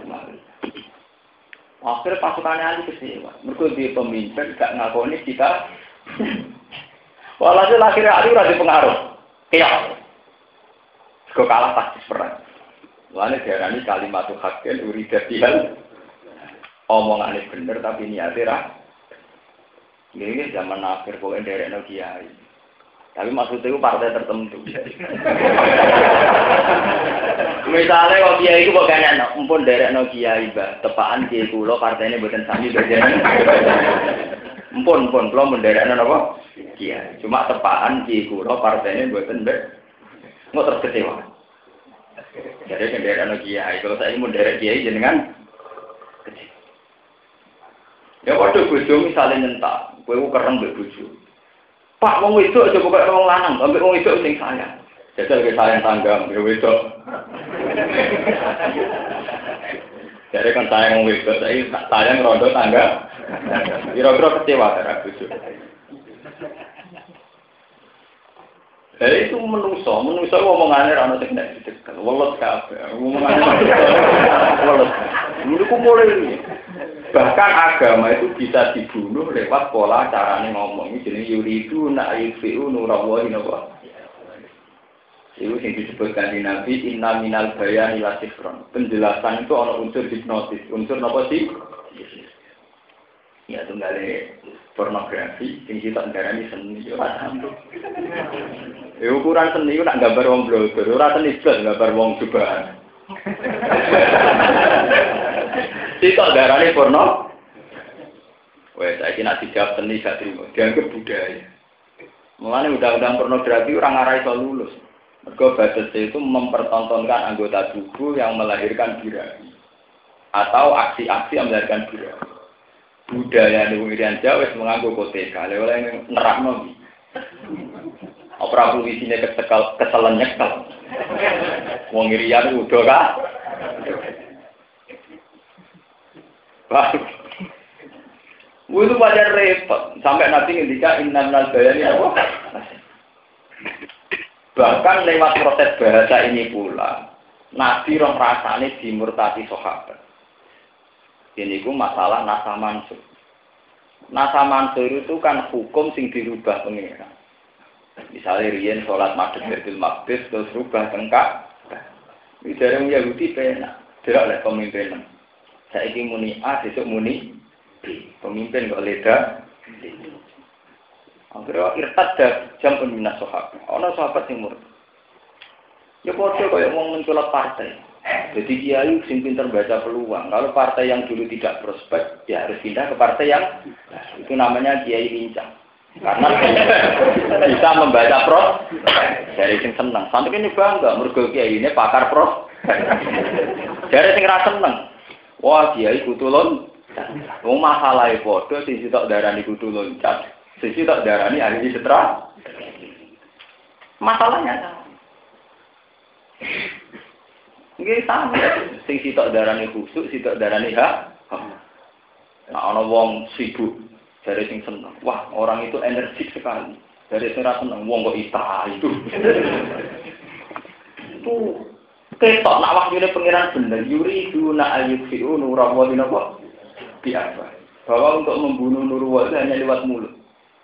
Akhirnya pasukannya Ali kecewa. Mergo dia pemimpin gak ngakoni kita. Walhasil akhirnya Ali ora dipengaruh. Keok. Kok kalah taktis perang. Lane diarani kalimatu haqqin urida bihal. Omongane bener tapi niate ra. Ini zaman akhir kok nderekno kiai. Tapi maksudnya itu partai tertentu. Misalnya kalau kiai itu bukan empun derek no kiai bah, tepaan kiai kulo partainya bukan sami berjalan. Empun empun kulo menderek no apa? Kiai. Cuma tepaan kiai kulo partainya bukan ber. Nggak terkecewa. Jadi menderek no kiai. Kalau saya mau derek kiai jenengan kecewa. Ya waktu bojo misalnya nyentak, kowe kereng mbek bojo. Pak wong wedok aja buka wong lanang, ambek wong wedok sing sayang. Jajal ke sayang tangga mbek wedok. Jadi kan sayang wong wedok, saya sayang rondo tangga. Kira-kira kecewa karo bojo. Jadi itu menuso, menuso omongannya rano teknik dicekel, welet kabeh, omongannya welet. Dulu ku mulai bahkan agama itu bisa dibunuh lewat pola carane ngomong. Ini jenis yuridu na'ayufi'u nurawahi napa. Itu yang disebutkan di Nabi inna minal bayani la sifron. Penjelasan itu ada unsur hipnotis, unsur napa sih? Ya tunggale pornografi, sing kita ngarani seni yo paham. Ya ukuran seni ku nak gambar wong blogger, ora seni blas gambar wong cobaan. Kita ngarani porno. Wes saiki nak dijawab seni gak trimo, dianggap budaya. Mulane undang-undang pornografi ora ngarai iso lulus. Mergo batas itu mempertontonkan anggota tubuh yang melahirkan birahi atau aksi-aksi yang melahirkan birahi. Budaya di Irian Jawa wis menganggo koteka, lha oleh nerapno iki. Ora perlu isine ketekal keselen nyekel. Wong Irian udah ka. Wah. Itu wajar repot sampai nanti ngendika inna minal bayani apa? Bahkan lewat proses bahasa ini pula Nabi rong rasane dimurtati sahabat. Ini ku masalah nasa mansur. Nasa mansur itu kan hukum sing dirubah pengira. Misalnya riyen sholat maghrib Baitul Maqdis terus rubah tengkak. Misalnya Yahudi penak, tidak oleh pemimpin. Saiki muni A, besok muni B. Pemimpin kok leda. Akhirnya irtad dah jam peminas sahabat. Ana sahabat sing murtad. Ya padha kaya wong mencolot partai. Jadi kiai sing pinter baca peluang. Kalau partai yang dulu tidak prospek, ya harus pindah ke partai yang itu namanya kiai lincah. Karena bisa membaca pros dari sing seneng. Sampai ini bangga, mergo kiai ini pakar pros. Dari sing ra seneng. Wah, kiai kudu loncat. Wong masalahe padha sing sitok darani kudu loncat. Sing sitok darani ahli setra. Masalahnya nggih sama, sing sitok darane khusuk, sitok darane hak. Nah, ana wong sibuk, jare sing seneng. Wah, orang itu energik sekali. Jare sing ra seneng, wong kok ita itu. Itu ketok nak wahyune pangeran bener, yuri duna ayyufi'u nurawahi napa? Biasa. Bahwa untuk membunuh Nurul hanya lewat mulut.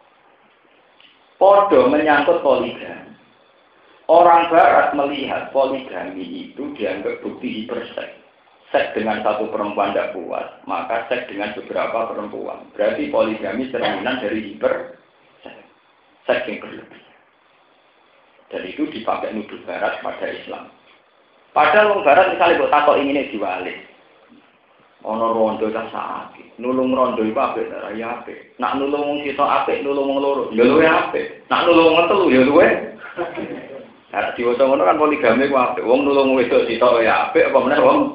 Podo menyangkut poligami. Orang Barat melihat poligami itu dianggap bukti hiperseks. Seks dengan satu perempuan tidak puas, maka seks dengan beberapa perempuan. Berarti poligami cerminan dari hiperseks. Seks yang berlebihan. Dan itu dipakai nuduh Barat pada Islam. Padahal orang Barat misalnya buat takut ingin diwalik. Ono rondo tak sakit. Nulung rondo itu apik, ya apik. Nak nulung wong sitok apik, nulung wong loro, ya luwe apik. Nak nulung wong telu, ya luwe. Nah, diwaca ngono kan poligami ku apik. Wong nulung wedok sitok ya apik apa meneh wong.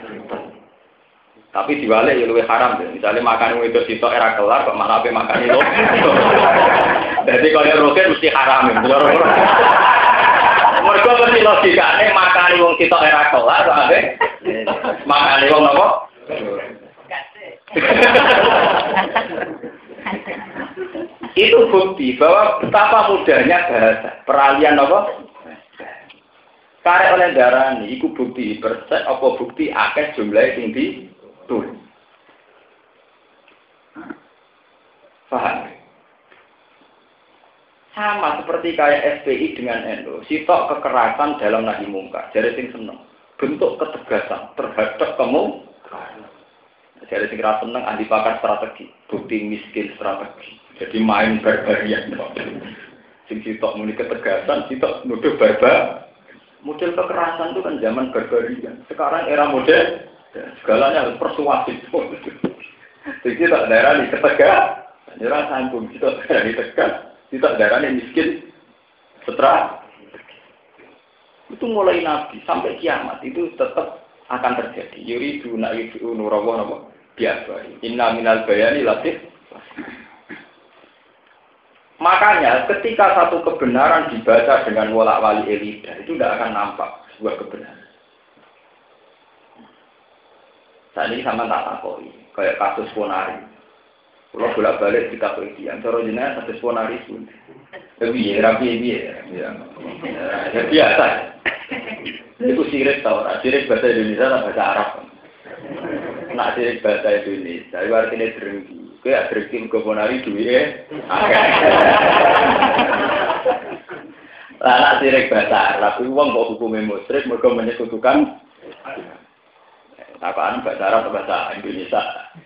Tapi diwalik ya luwih haram. Misalnya makan wedok sitok era kelar kok malah ape makan itu. Jadi kalau roket mesti haram. Mergo mesti logikane makan wong sitok era kelar kok ape makan wong napa? Itu bukti bahwa betapa mudahnya bahasa. Peralihan apa? Karek oleh darani, itu bukti persek, apa bukti akeh jumlah sing ditulis. Paham? Sama seperti kayak F P I dengan N U. Sitok kekerasan dalam nahi mungkar. Jadi sing seneng. Bentuk ketegasan terhadap kamu. Jadi sing ra seneng ahli pakar strategi. Bukti miskin strategi. Jadi main barbarian. Sing sitok muni ketegasan, sitok nuduh barbar. Model kekerasan itu kan zaman barbarian. Sekarang era modern, segalanya harus persuasif. Jadi tak daerah di ketegak, daerah sanggung, tidak daerah di tegak, tidak daerah yang miskin, setelah itu mulai Nabi sampai kiamat itu tetap akan terjadi. Yuridu na'idu nurawah nama biasa. Inna minal bayani latif. Makanya ketika satu kebenaran dibaca dengan wolak-wali lidah itu tidak akan nampak sebuah kebenaran. Saat ini sama tak takoi, kayak kasus Ponari. Kalau bolak-balik kita pergi, cara jenayah kasus Ponari pun. Tapi ya rapi dia, ya biasa. Itu sirik tau, sirik bahasa Indonesia atau bahasa Arab. Nak sirik bahasa Indonesia, itu artinya drengki. Kayak drengki keponari duit, lah nak sirik bahasa Arab, itu uang kok hukumnya musyrik, mereka menyekutukan. Apaan bahasa Arab atau bahasa Indonesia?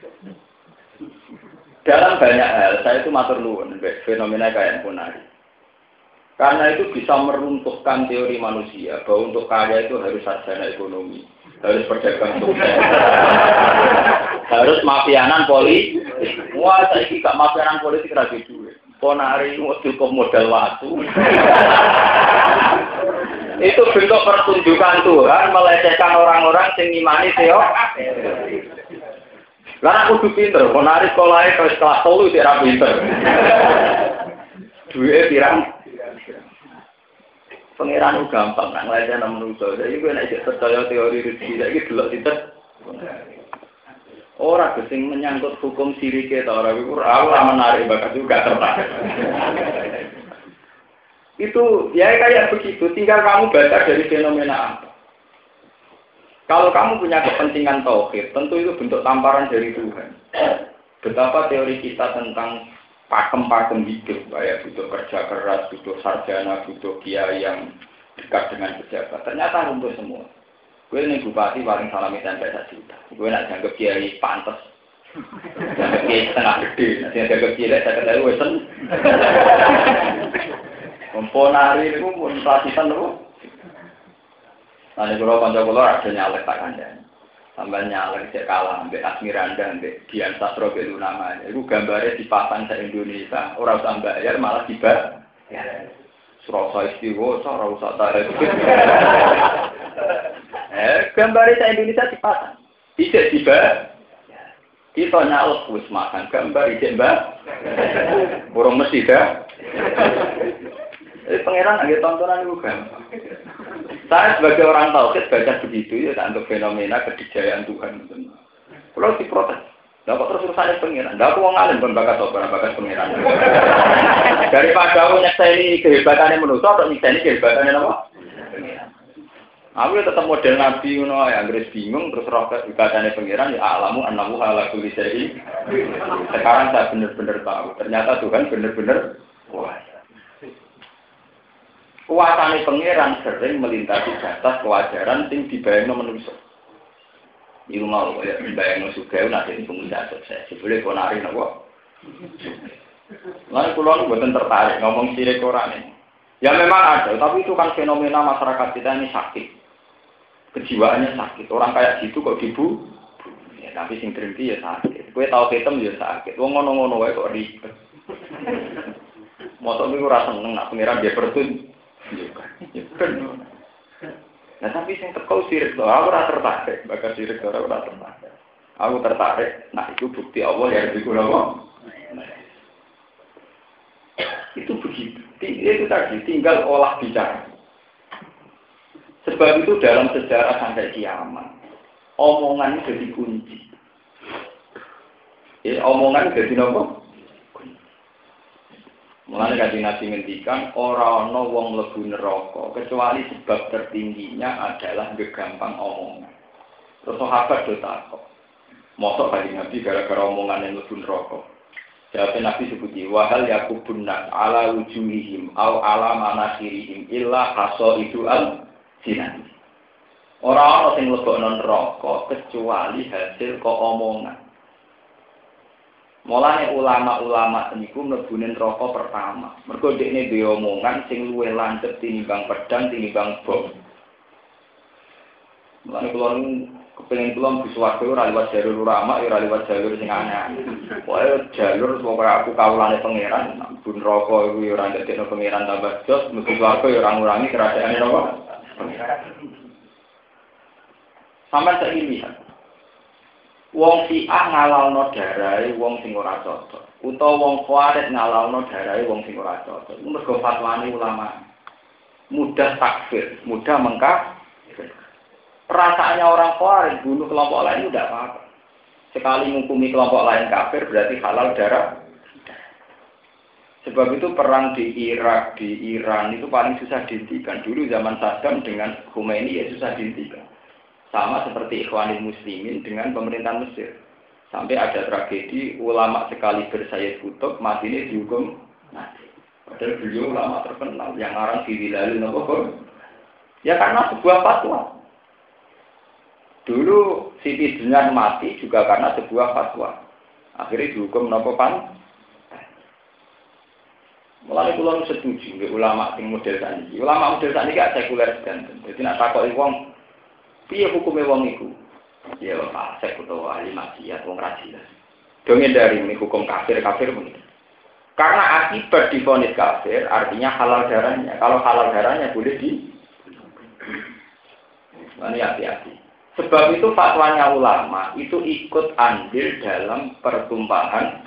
Dalam banyak hal, saya itu matur nuwun fenomena kayak ponari. Karena itu bisa meruntuhkan teori manusia bahwa untuk kaya itu harus sarjana ekonomi, harus berdagang sukses, harus mafianan politik. Wah, saya ini gak mafianan politik lagi duit. Ponari itu cukup modal waktu. Itu bentuk pertunjukan Tuhan melecehkan orang-orang yang ngimani teori. Karena aku tuh pinter, ponari sekolahnya ke kelas tolu tidak pinter. Duitnya pirang. Pengiran itu gampang, nak ngelajar nama manusia. Jadi gue nak percaya teori rezeki, jadi delok tidak. Orang gesing menyangkut hukum sirik kita orang itu orang menarik bakat juga tertarik. Itu ya kayak begitu. Tinggal kamu baca dari fenomena apa. Kalau kamu punya kepentingan tauhid, tentu itu bentuk tamparan dari Tuhan. Betapa teori kita tentang pakem-pakem hidup, kayak butuh kerja keras, butuh sarjana, butuh kiai yang dekat dengan pejabat. Ternyata runtuh semua. Gue ini bupati paling salami sampai satu juta. Gue nak janggap kiai pantas, janggap kiai setengah gede, nanti janggap kiai saya kata gue sen. Komponari itu pun pelatihan itu. Nanti kalau panjang kalau ada nyalek tak kandang. Tambah nyalek cek kalah, ambil Asmiranda, ambil Dian Sastro Belu namanya. Itu gambarnya dipasang se Indonesia, orang usah bayar malah dibayar. Surasa istiwa, cara usah tarik. Eh, gambarnya se Indonesia dipasang, tidak dibayar. Kita nyalek wis makan gambar ijek mbak, burung mesti dah. Eh, pangeran agak tontonan itu gampang. Saya sebagai orang tauhid baca begitu ya untuk fenomena kedijayaan Tuhan. Kalau diprotes, dapat terus urusannya pengiran. Tidak aku mau ngalim pun bakat sopan bakat pengiran. Daripada aku nyekseni kehebatannya manusia atau nyekseni kehebatannya apa? Pengiran. Aku ya tetap model Nabi Yuno yang Inggris bingung terus roket kehebatannya pengiran ya alamu anamu ala kulli syai. Sekarang saya benar-benar tahu. Ternyata Tuhan benar-benar kuasa. Kuasane pangeran sering melintasi batas kewajaran sing dibayangno manusia. Iku mau kaya dibayangno sugih nek dadi pengusaha sukses. Boleh ponari napa? Lan kula mboten tertarik ngomong sirik ora nih. Ya memang ada, tapi itu kan fenomena masyarakat kita ini sakit. Kejiwaannya sakit. Orang kayak gitu kok dibu. Ya tapi sing drengki ya sakit. Kowe tau ketem ya sakit. Wong ngono-ngono wae kok ribet. Motor niku ora seneng nak pangeran dia pertun. Nah tapi sing teko sirik to, aku ora tertarik, bakal sirik to ora tertarik. Aku tertarik, nah itu bukti Allah ya lebih kuno. Itu begitu. Itu tadi tinggal olah bicara. Sebab itu dalam sejarah sampai kiamat, omongan jadi kunci. Ya, omongan jadi nopo? Mulane kanjeng Nabi ngendikan ora ana wong mlebu neraka kecuali sebab tertingginya adalah gegampang omongan. Terus sahabat do takok. Mosok kanjeng Nabi gara-gara omongan yang mlebu neraka. Jawab Nabi sebuti wahal yakubun nas ala wujuhihim au ala manasirihim illa hasaidu al jinan. Ora ana sing mlebokno neraka kecuali hasil kok omongan. Mulane ulama-ulama niku mlebune neraka pertama. Mergo dekne dhewe omongan sing luwih lancet tinimbang pedang tinimbang bom. Mulane kula kepengin kula bisa swarga ora liwat jalur ulama, ora liwat jalur sing aneh. Pokoke jalur pokoke aku kawulane pangeran, bun neraka iku ora ndadekno pangeran tambah jos, mesti swarga ya ora ngurangi kerajaane napa? Sampai saiki wong Syiah ngalalno darahe wong sing ora cocok, utawa wong Khawarij ngalalno darahe wong sing ora cocok. Mergo fatwane ulama. Mudah takfir, mudah mengkafir. Perasaannya orang Khawarij bunuh kelompok lain itu tidak apa-apa. Sekali menghukumi kelompok lain kafir berarti halal darah. Sebab itu perang di Irak, di Iran itu paling susah dihentikan. Dulu zaman Saddam dengan Khomeini ya susah dihentikan. Sama seperti Ikhwanul Muslimin dengan pemerintahan Mesir. Sampai ada tragedi ulama sekali bersayyid kutub mati ini dihukum mati. Padahal beliau ulama terkenal yang orang diwilalin apa. Ya karena sebuah fatwa. Dulu Siti Jenar mati juga karena sebuah fatwa. Akhirnya dihukum nopo pan. Mulai kula setuju nggih ulama sing model saniki. Ulama model saniki gak sekuler sedanten. Dadi nek takoki wong piye hukume wong iku? Ya fasik utawa ahli maksiat wong ra jelas. Donge dari ini hukum kafir-kafir begitu. Karena akibat divonis kafir artinya halal darahnya. Kalau halal darahnya boleh di Ini hati-hati. Sebab itu fatwanya ulama itu ikut andil dalam pertumpahan.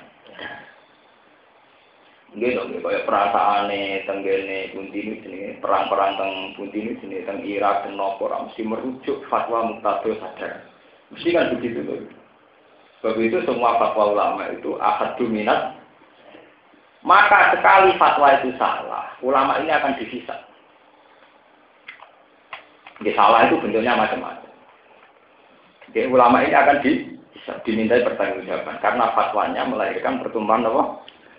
Nggih dong, kayak perasaane tenggene pundi ini perang-perang teng pundi ini teng Irak teng nopo mesti merujuk fatwa muqtadil sadar. Mesti kan begitu loh. Sebab itu semua fatwa ulama itu ahad dominat. Maka sekali fatwa itu salah, ulama ini akan dihisab. Nggih salah itu bentuknya macam-macam. Jadi ulama ini akan di, dimintai pertanggungjawaban karena fatwanya melahirkan pertumpahan apa?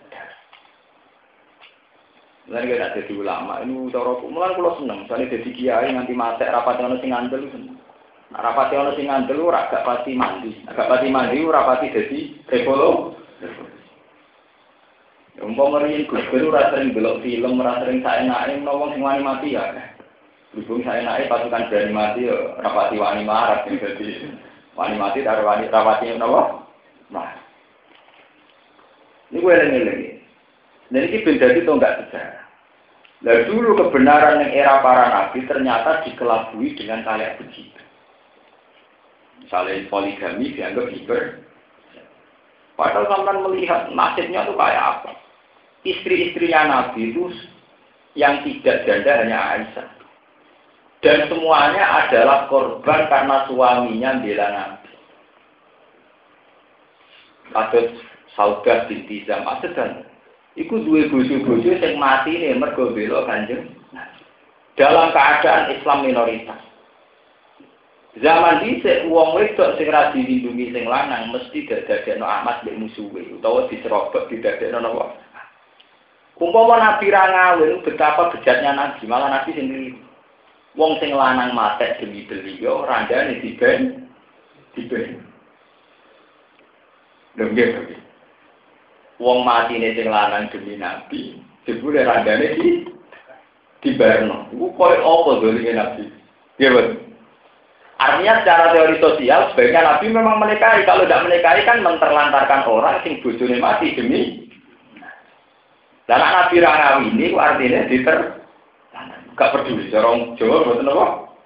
Mulai kita jadi ulama ini cara mulai kalau seneng, misalnya jadi kiai nanti mati rapat yang sing ngandel seneng. Nah, rapat yang sing ngandel ora gak pati mandi, agak pati mandi ora pati jadi rekolo. Umpama riyen Gus Dur ora sering delok film, ora sering saenake wong sing wani mati ya. Berhubung saenake pasukan berani mati ya rapati wani marat jadi wani mati karo wani rapati napa? Nah. Ini gue eling-eling. Dan ini benda itu enggak sejarah. Nah dulu kebenaran yang era para nabi ternyata dikelabui dengan kayak begitu. Misalnya poligami dianggap hiper. Padahal sampai melihat nasibnya itu kayak apa. Istri-istrinya nabi itu yang tidak janda hanya Aisyah. Dan semuanya adalah korban karena suaminya bela nabi. Kasus Saudah binti Zam'ah dan iku duwe bojo-bojo sing mati nih mergo bela Kanjeng. Dalam keadaan Islam minoritas. Zaman dhisik wong wedok sing ra dilindungi sing lanang mesti dadekno amat mbek musuhe utawa diserobot didadekno napa. Umpama Nabi ra ngawin betapa bejatnya Nabi, malah Nabi sendiri. Wong sing lanang matek demi beliau randane diben diben. Lho nggih. Wong mati ini sing lanang demi Nabi, jebule randane di dibarno. Iku koyo apa dolime Nabi? Nggih, Mas. Artinya secara teori sosial sebaiknya Nabi memang menikahi. Kalau tidak menikahi kan menterlantarkan orang sing bojone mati demi. Dan Nabi ra ngawini ku artinya diter gak peduli orang Jawa mboten apa.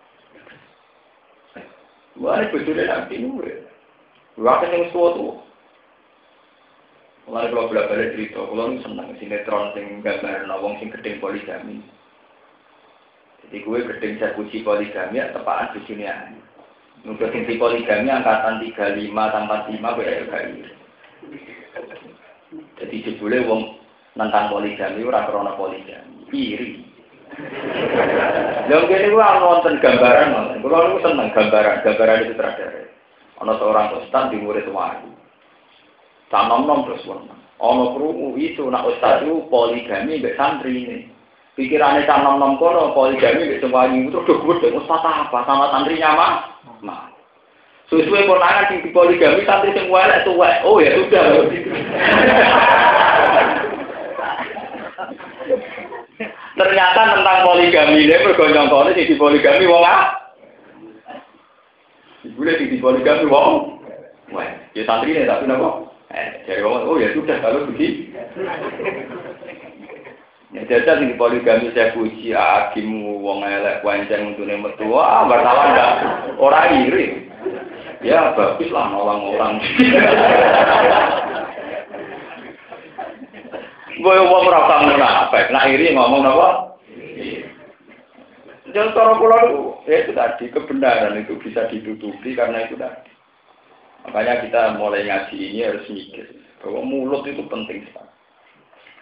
Wah, bojone Nabi nuwe. Wah, sing suatu. Mulai kalau bolak-balik cerita, kalau senang sinetron sing gambar nawang sing gedeng poligami. Jadi gue gedeng eksekusi poligami ya tepaan di sini aja. Untuk sing poligami angkatan tiga puluh lima tambah lima gue ya kayak Jadi jebule wong nentang poligami ora krana poligami, iri. Lha ngene ku ana wonten gambaran, kula niku seneng gambaran, gambaran itu terakhir. Ana seorang ustaz di murid wali. Sanom-nom terus wong. Ana krungu iso nek ustaz itu poligami mbek santri ini. Pikirane sanom-nom kono poligami mbek semwani terus do gedhe ustaz apa sama santrinya mah. Nah. Suwe-suwe konangan sing poligami santri sing welek tuwek. Oh ya sudah. Ternyata tentang poligami ini mergo nyongkone sing poligami wong ah. Ibune sing poligami wong. Wah, ya santri ne tapi napa? Eh, jadi orang, oh ya sudah kalau begitu. Ya jajal di poligami saya puji akimu wong elek wancen untune metu. Ah, wartawan enggak ora iri. Ya bagus lah nolong orang. Gue wong ora usah munafik, nak iri ngomong apa? Jangan cara kula itu, ya itu tadi kebenaran itu bisa ditutupi karena itu tadi. Makanya kita mulai ngaji ini harus mikir bahwa mulut itu penting sekali.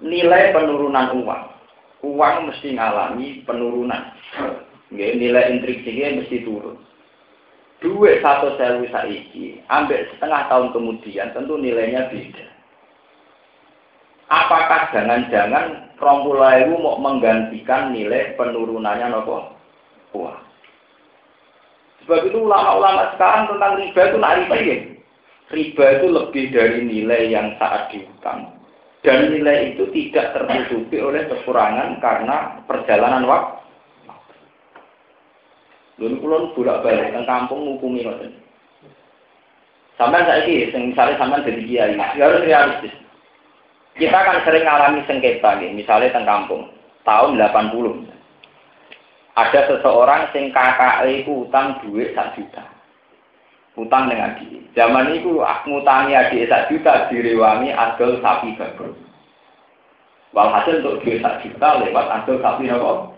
nilai penurunan uang. Uang mesti ngalami penurunan. Nggih, nilai intrinsiknya mesti turun. Duit satu sewu saiki, ambil setengah tahun kemudian tentu nilainya beda. Apakah jangan-jangan rong puluh ewu mau menggantikan nilai penurunannya nopo? Wah. Sebab itu ulama-ulama sekarang tentang riba itu nak riba ya. Riba itu lebih dari nilai yang saat dihutang. Dan nilai itu tidak tertutupi oleh kekurangan karena perjalanan waktu. Dulu kulon bolak-balik teng kampung ngukumi ngoten. Sampai saiki sing misale sampean dadi kiai, harus realistis. Kita kan sering ngalami sengketa nggih, misale teng kampung tahun delapan puluh. Ada seseorang sing kakake iku utang dhuwit sak juta. Utang dengan adik. Zaman iku ngutangi adik sak juta direwangi adol sapi bagus. Walhasil untuk dhuwit sak juta lewat adol sapi napa?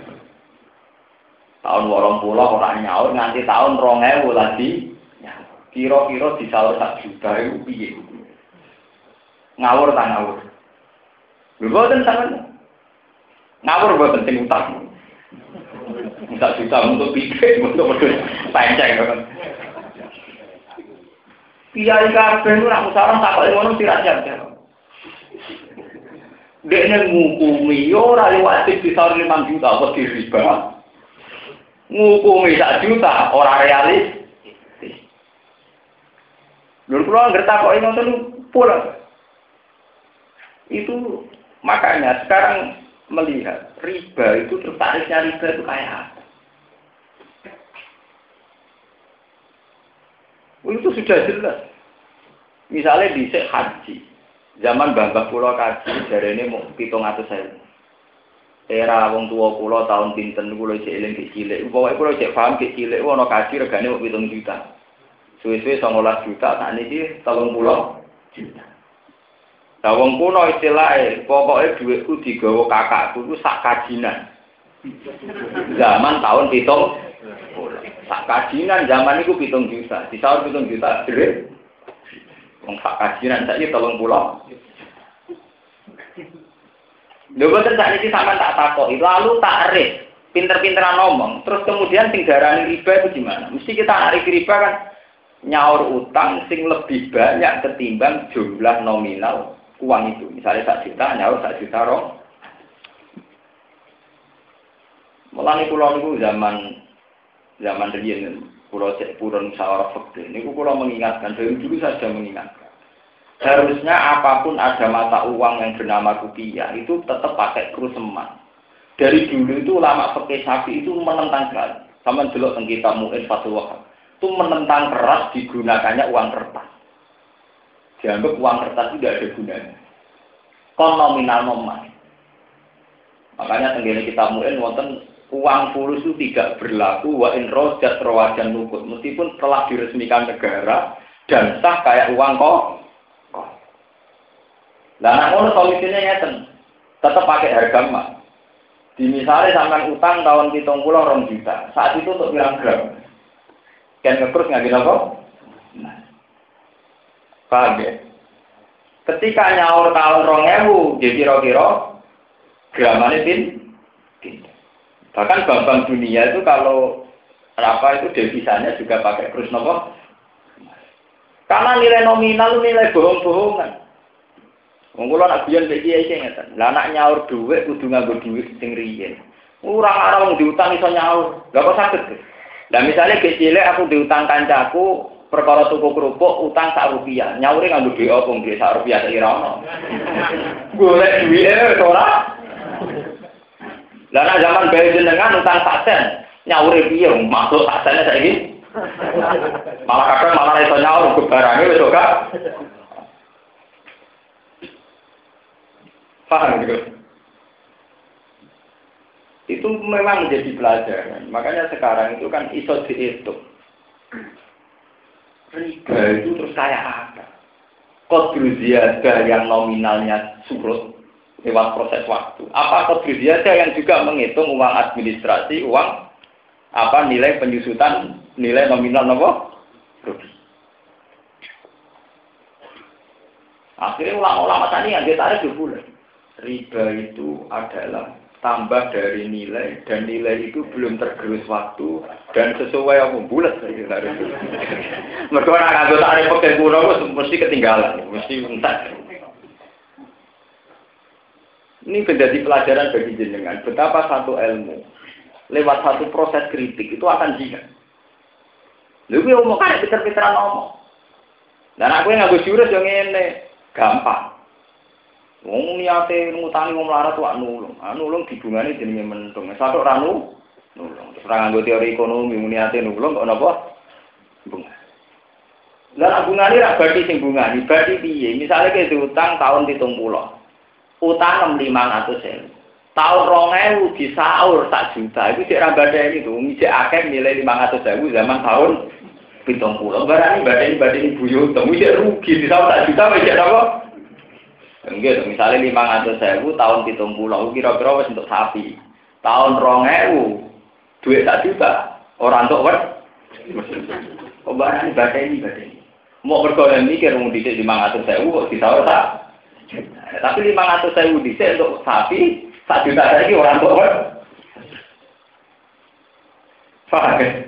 Tahun wolong puluh orang nyaur nganti tahun rong ewu lagi kira-kira disaur sak juta itu piye ngawur tak ngawur lho boten sampean ngawur boten sing utang sak juta untuk piye untuk panceng kan kiai kabeh ora musarang takoke ngono sirat-sirat dekne ngukumi yo ora liwat disaur lima juta kok diriba ngukumi sak juta orang realis. Lur kula ngerti kok ini ngoten pula. Itu makanya sekarang melihat riba itu tertariknya riba itu kayak apa? Itu sudah jelas. Misalnya di haji, zaman Mbah Kula kaji jarene mau pitung atus ewu. Era wong tua kula tahun pinten kula cek eling cek cilik. Pokoke kula cek paham cek cilik ana kaji regane mung pitung juta. Suwe-suwe sangalas juta, sak niki telung puluh juta. Lah wong kuno istilahe pokoke dhuwitku digawa kakakku iku sak kajinan. Zaman tahun pitung puluh. Sak kajinan zaman iku pitung juta. Disaur pitung juta dhewe. Wong sak kajinan saiki telung puluh. Lho boten sak niki sampean tak takoki, lalu takrif, pinter-pinteran ngomong, terus kemudian sing darani riba itu gimana? Mesti kita narik riba kan nyaur utang sing lebih banyak ketimbang jumlah nominal uang itu. Misalnya sak juta nyaur sak juta rong. Mulane kula niku zaman zaman riyen kula cek purun musyawarah fikih niku kula mengingatkan dari dulu saja mengingatkan. Harusnya apapun ada mata uang yang bernama rupiah itu tetap pakai kurs emas. Dari dulu itu ulama fikih Syafi'i itu menentang keras. Sama delok teng kitab Mu'in Fathul Wahhab. Itu menentang keras digunakannya uang kertas. Dianggap uang kertas tidak ada gunanya. Kon nominal nominal. Makanya tenggene kitab Mu'in wonten uang fulus itu tidak berlaku wa in rojat rawajan nukut. Meskipun telah diresmikan negara dan sah kayak uang kok. Lah nek ngono solusinya ngeten. Tetap pakai harga emas. Di misalnya sampean utang tahun pitung puluh rong juta. Saat itu untuk pirang gram. Kan ngekrus nggak apa? Nah. Paham ya? Ketika nyaur tahun rong ewu, jadi kira-kira gramane pin. Bahkan bank-bank dunia itu kalau apa itu devisanya juga pakai kurs nopo. Karena nilai nominal nilai bohong-bohongan. Wong kula nak guyon iki iki ngeten. Lah nak nyaur dhuwit kudu nganggo dhuwit sing riyen. Ora arep wong diutang iso nyaur. Lah kok saged? Lah misale ge cilik aku diutang kancaku perkara tuku kerupuk utang sak rupiah. Nyaure nganggo dhuwit apa dhuwit sak rupiah sak ira ono. Golek dhuwite ora. Lah nak zaman bae jenengan utang sak sen, nyaure piye masuk sak sene saiki? Malah kadang malah iso nyaur barange wis gak. Paham gitu? Itu memang menjadi pelajaran. Makanya sekarang itu kan iso dihitung. Riba itu terus kayak apa? Qadru ziyadah yang nominalnya surut lewat proses waktu. Apa qadru ziyadah yang juga menghitung uang administrasi, uang apa nilai penyusutan, nilai nominal apa? Rugi. Akhirnya ulama-ulama tadi yang ditarik dua bulan. riba itu adalah tambah dari nilai dan nilai itu belum tergerus waktu dan sesuai apa bulat harus. Mereka orang anggota ada pakai kuno mesti ketinggalan, mesti entar. Ini menjadi pelajaran bagi jenengan betapa satu ilmu lewat satu proses kritik itu akan jika. Lalu omong kan pinter-pinteran ngomong. Dan aku yang nganggo jurus yang ini gampang. Wong niate ngutangi wong melarat wae nulung. Ah nulung dibungani jenenge mentung. Satu ora nulung. Terus ora nganggo teori ekonomi niate nulung kok napa? Bunga. Lah bungane ra bagi sing bungani, bagi piye? Misale ke utang tahun pitung puluh. Utang lima ratus ribu. Tahun dua ribu disaur sak juta. Iku cek ra badani itu, ngijek akeh nilai lima ratus ribu zaman tahun pitung puluh. Barani badani-badani buyut, ngijek rugi disaur sak juta wis cek apa? Enggak, misalnya lima ratus ribu tahun pitung puluh, kira-kira wis untuk sapi. Tahun dua ribu duit sak juta, orang untuk wet. Kok barani badani badani. Mau berkonon mikir wong dhisik lima ratus ribu kok disaur sak. Tapi lima ratus ribu dhisik untuk sapi, sak juta lagi orang tua kan? Paham ya?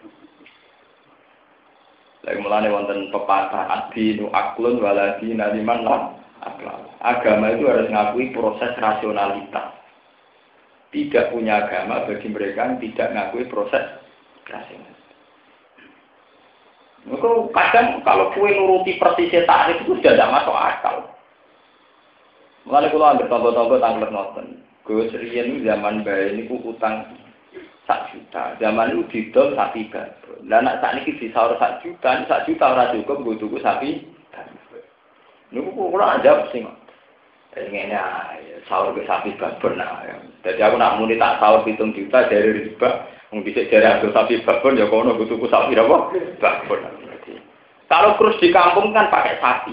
Lagi mulanya wonten pepatah adinu aklun waladi naliman lam akal. Agama itu harus mengakui proses rasionalitas. Tidak punya agama bagi mereka yang tidak mengakui proses rasionalitas. Maka kadang kalau kue nuruti persisnya tarif itu sudah tidak masuk akal. Mulai kalau ambil contoh-contoh tanggal nonton, gue serian zaman bayi ini ku utang sak juta, zaman itu didol sapi baru. Dan nak saat ini disaur sak juta, sak juta orang cukup gue tunggu sapi. Ini ku kurang aja sih, pengennya sahur ke sapi baru nah. Jadi aku nak muni tak sahur hitung juta dari riba, bisa dari hasil sapi baru ya kono gue tunggu sapi apa? Baru. Kalau terus di kampung kan pakai sapi.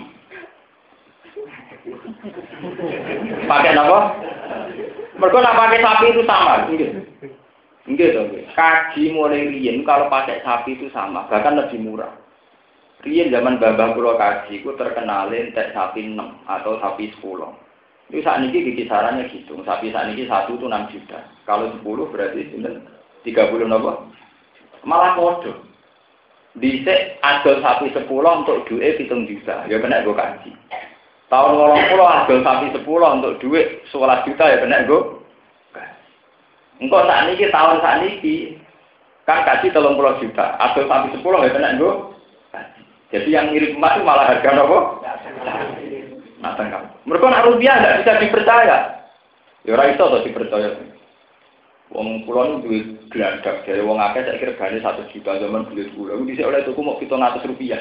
Pakai apa? Mereka nak pakai sapi itu sama, enggak? Enggak dong. Kaji mulai riyen kalau pakai sapi itu sama, bahkan lebih murah. Riyen zaman babah pulau kaji, itu terkenalin tek sapi enam atau sapi sepuluh. Itu saat ini kisarannya gitu. Sapi saat ini satu itu enam juta. Kalau sepuluh berarti tiga puluh apa? Malah kode. Dhisik adol sapi sepuluh untuk duit hitung juta. Ya kena gue kaji. Tahun ngolong pulau adol sapi sepuluh untuk duit sebelas juta ya kena gue. Engkau saat ini tahun saat ini kan kasih telung puluh juta. Adol sapi sepuluh ya kena gue. Jadi yang mirip emas itu malah harga apa? Matang kamu. Mereka nak rupiah tidak bisa dipercaya. Ya orang itu atau dipercaya. Wong pulau itu duit geladak. Jadi wong akeh saya kira gani satu juta zaman duit pulau. Bisa oleh tuku mau hitung ratus rupiah.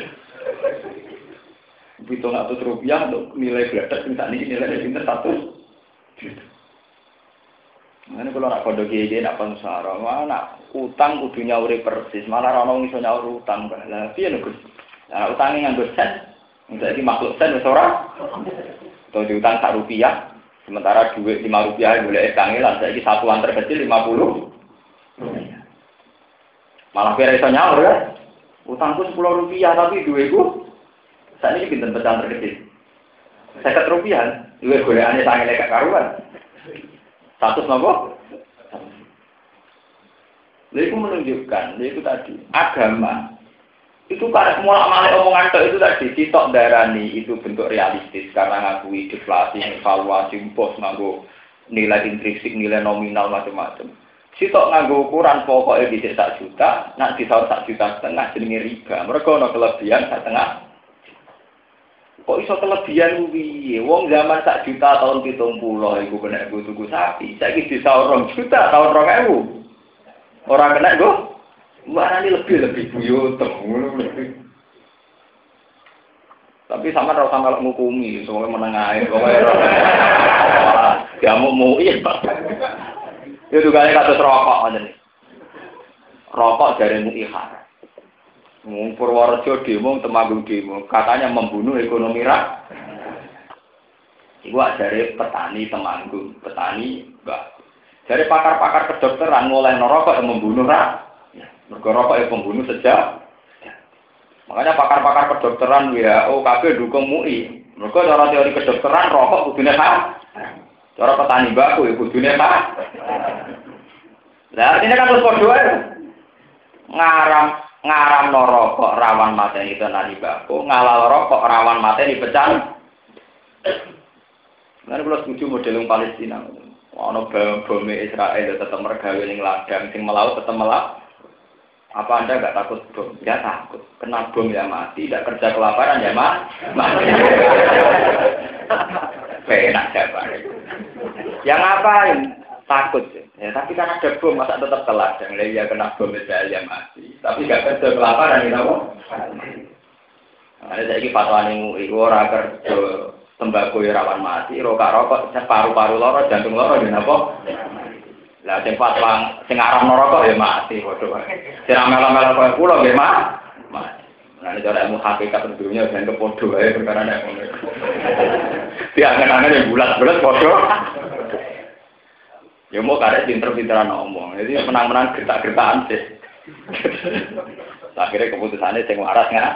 Hitung ratus rupiah untuk nilai geladak. Misalnya ini nilai pinter satu juta. Ini kalau nak kode G G nak pensara, mana utang kudunya urip persis. Malah orang iso nyaur utang. Lah piye lho Gus? Nah, utangnya nganggo sen. Jadi makhluk sen wis ora. Atau diutang sak rupiah. Sementara duit lima rupiah boleh etange lah saiki satuan terkecil lima puluh. Malah kira iso nyaur ya. Utangku sepuluh rupiah tapi duitku sakniki pinten pecahan terkecil. seket rupiah. Duit golekane sange lek karuan. Status nopo? Itu menunjukkan, itu tadi agama itu karena semua malah omongan itu tadi sitok darani itu bentuk realistis karena ngakui deflasi, evaluasi, bos nganggo nilai intrinsik, nilai nominal macam-macam. Sitok nganggo ukuran pokoknya bisa sak juta, nak disaur sak juta setengah jenenge riba. Mereka ono kelebihan sak setengah. Kok iso kelebihan piye? Wong zaman sak juta tahun pitung puluh iku kena nggo tuku sapi. Saiki disaur rong juta tahun dua ribu. Ora kena nggo. Mana ini lebih-lebih buyut ngono. Tapi sama ora sama ngukumi, soalnya menengae pokoke. Ya mau mau iya, Pak. Itu kali kados rokok ngoten. Rokok jare mu ihar. Wong Purworejo demo, Temanggung demo, katanya membunuh ekonomi rakyat. Iku ajare petani Temanggung, petani Mbak. Jare pakar-pakar kedokteran mulai rokok yang membunuh rakyat. Mergo rokok yang membunuh sejak. Makanya pakar-pakar kedokteran W H O K B dukung M U I. Mergo cara teori kedokteran rokok kudune haram. Cara petani baku ya kudune Pak. Lah artinya kan terus padha wae. Ngaram ngaram rokok rawan mateni tenani baku, ngalal rokok rawan mateni pecan. Nah, kalau setuju model yang Palestina, ono bom Israel tetap mergawe ning ladang, sing melaut tetap melaut. Apa Anda nggak takut bom? Ya takut. Kena bom ya mati, tidak kerja kelaparan ya mati. Enak siapa? Yang ngapain? Takut. Ya, tapi kan ada bom, masa tetap ke ladang. Ya kena bom Israel ya mati. Tapi nggak kerja kelaparan, ya apa? Ada saya ini fatwa nih, itu orang kerja tembakau rawan mati, rokok rokok, paru-paru loro, jantung loro, gini apa? Lah sing fatwa sing aran rokok ya mati, bodoh. Sing melo-melo koyo kula nggih mati. Nah nek ora ilmu hakikat dunya ben kepodo wae perkara nek ngono. Diangen-angen yang bulat-bulat bodoh. Ya mau karek pinter-pinteran ngomong. Jadi menang-menang gertak-gertakan sih. Akhirnya keputusannya sing waras nggak?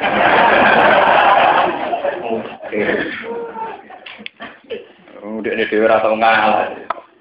Udah ini dewa atau ngalah.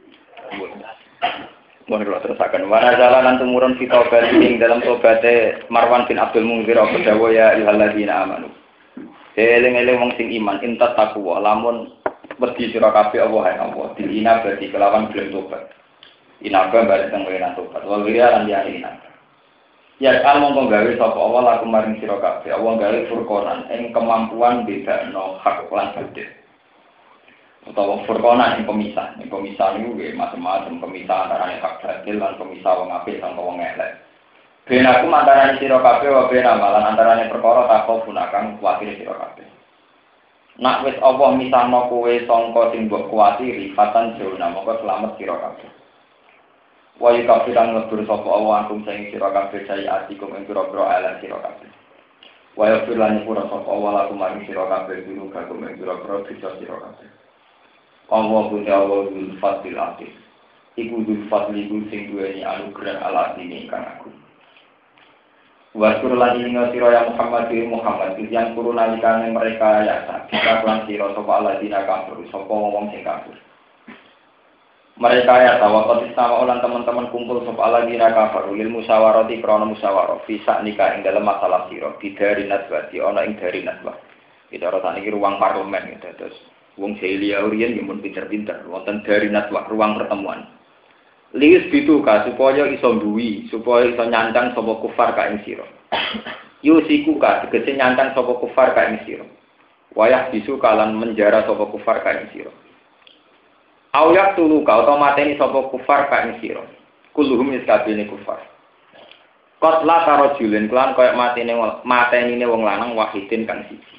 Mohon kalau terusakan. Mana jalanan tumurun kita berding dalam tobatnya Marwan bin Abdul Munzir aku dawa ya ilhaladina amanu. Eleng-eleng wong sing iman intat takwa lamun wedi sira kabeh Allah ya Allah. Dilina berarti kelawan gelem tobat. Inaba balik teng wena tobat. Wal wiya lan liyane inaba. Ya al mongko gawe sapa Allah laku maring sira kabeh. Allah gawe furqanan ing kemampuan bedakno hak lan batil. Utawa furqanan ing pemisah. Ing pemisah niku nggih macam-macam pemisah antarané hak batil lan pemisah wong apik lan wong elek. Ben aku antarané sira kabeh wa ben amalan antarané perkara takok punakang kuwatir sira kabeh. Nak wis Allah misahno kowe sangka sing mbok kuwatiri fatan jona mongko slamet sira kabeh. Wa yukafiran ngebur sapa Allah antum sing sira kabeh saya atikum ing pira-pira ala sira kabeh. Wa yufiran pura sapa Allah lakum maring sira kabeh dulu kagum ing pira-pira dosa sira kabeh. Allah punya Allah dzul fadlil aziz. Iku dzul fadli ku sing duweni anugerah ala dini kang aku. Wa sur lan ing sira ya Muhammad bin Muhammad yang kurun nalikane mereka ya kita lan sira sapa Allah dina kafir sapa wong sing kafir. Mereka ya tawakal sama orang teman-teman kumpul sop ala dina kafir lil musyawarati krana musyawarah bisa nikah ing dalam masalah sira bidari nasbati ana ing dari nasbah. Kita ora iki ruang parlemen gitu terus wong Celia Orien yang mun pinter-pinter wonten dari nasbah ruang pertemuan. Lius bitu ka supaya iso duwi supaya iso nyancang sapa kufar ka ing sira. Yusiku ka tegese nyancang sapa kufar ka ing sira. Wayah bisu kalan menjara sapa kufar ka ing sira. Ayak tulu kau atau mateni sapa kufar ka ing sira. Kulluhum iskabine kufar. Qatla tarajulin kelan koyo matene matenine wong lanang wahidin kang siji.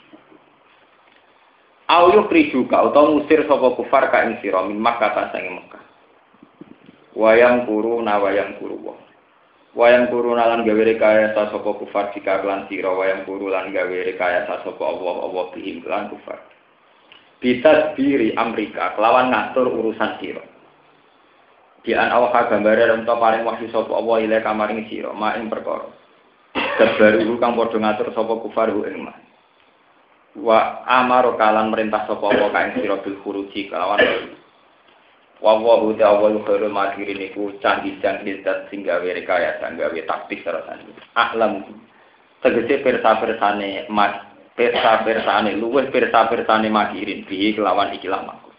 Ayu priju kau atau ngusir sapa kufar ka ing sira min Makkah sange Mekah. Wayang kuru na wayang kuru wong. Wayang kuru lan gawe rekayasa sapa kufar jika lan sira wayang kuru lan gawe rekayasa sapa Allah Allah bihim lan kufar. Bisa diri Amerika kelawan ngatur urusan sira. Di an awak gambare rento paring wahyu sapa Allah ile kamaring sira mak ing perkara. Kabaru kang padha ngatur sapa kufar ing ma. Wa amaro kalan merintah sapa Allah ka ing sira bil khuruji kelawan. Wa wa ta'awul khairul makirin iku canggih-canggih dat sing gawe rekayasa gawe taktik sarasane. Ahlam tegese persa-persane mas persa-persane luwih persa-persane makirin piye kelawan iki lamaku.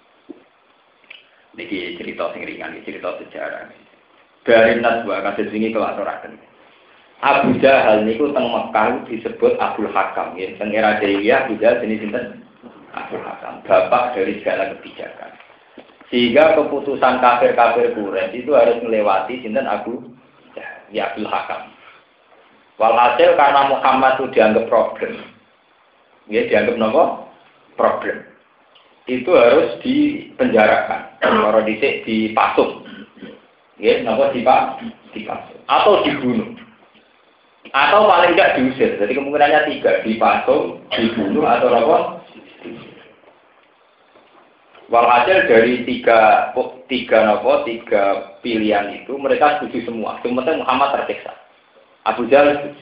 Niki cerita sing ringan, cerita sejarah. Dari Naswa kados wingi kelatoraken. Abu Jahal niku teng Mekah disebut Abdul Hakam, nggih. Teng era Jahiliyah Abu Jahal jenis sinten? Abdul Hakam, bapak dari segala kebijakan. Sehingga keputusan kafir-kafir Quraisy itu harus melewati sinten Abu Jahal, ya Abdul Hakam. Walhasil karena Muhammad itu dianggap problem. Ya, dianggap nopo problem. Itu harus dipenjarakan. Kalau dicek dipasung. Ya, nopo dipak dipasung atau dibunuh. Atau paling tidak diusir. Jadi kemungkinannya tiga, dipasung, dibunuh atau nopo. Walhasil dari tiga tiga nopo tiga pilihan itu mereka setuju semua. Cuma Muhammad tersiksa. Abu Jahal setuju.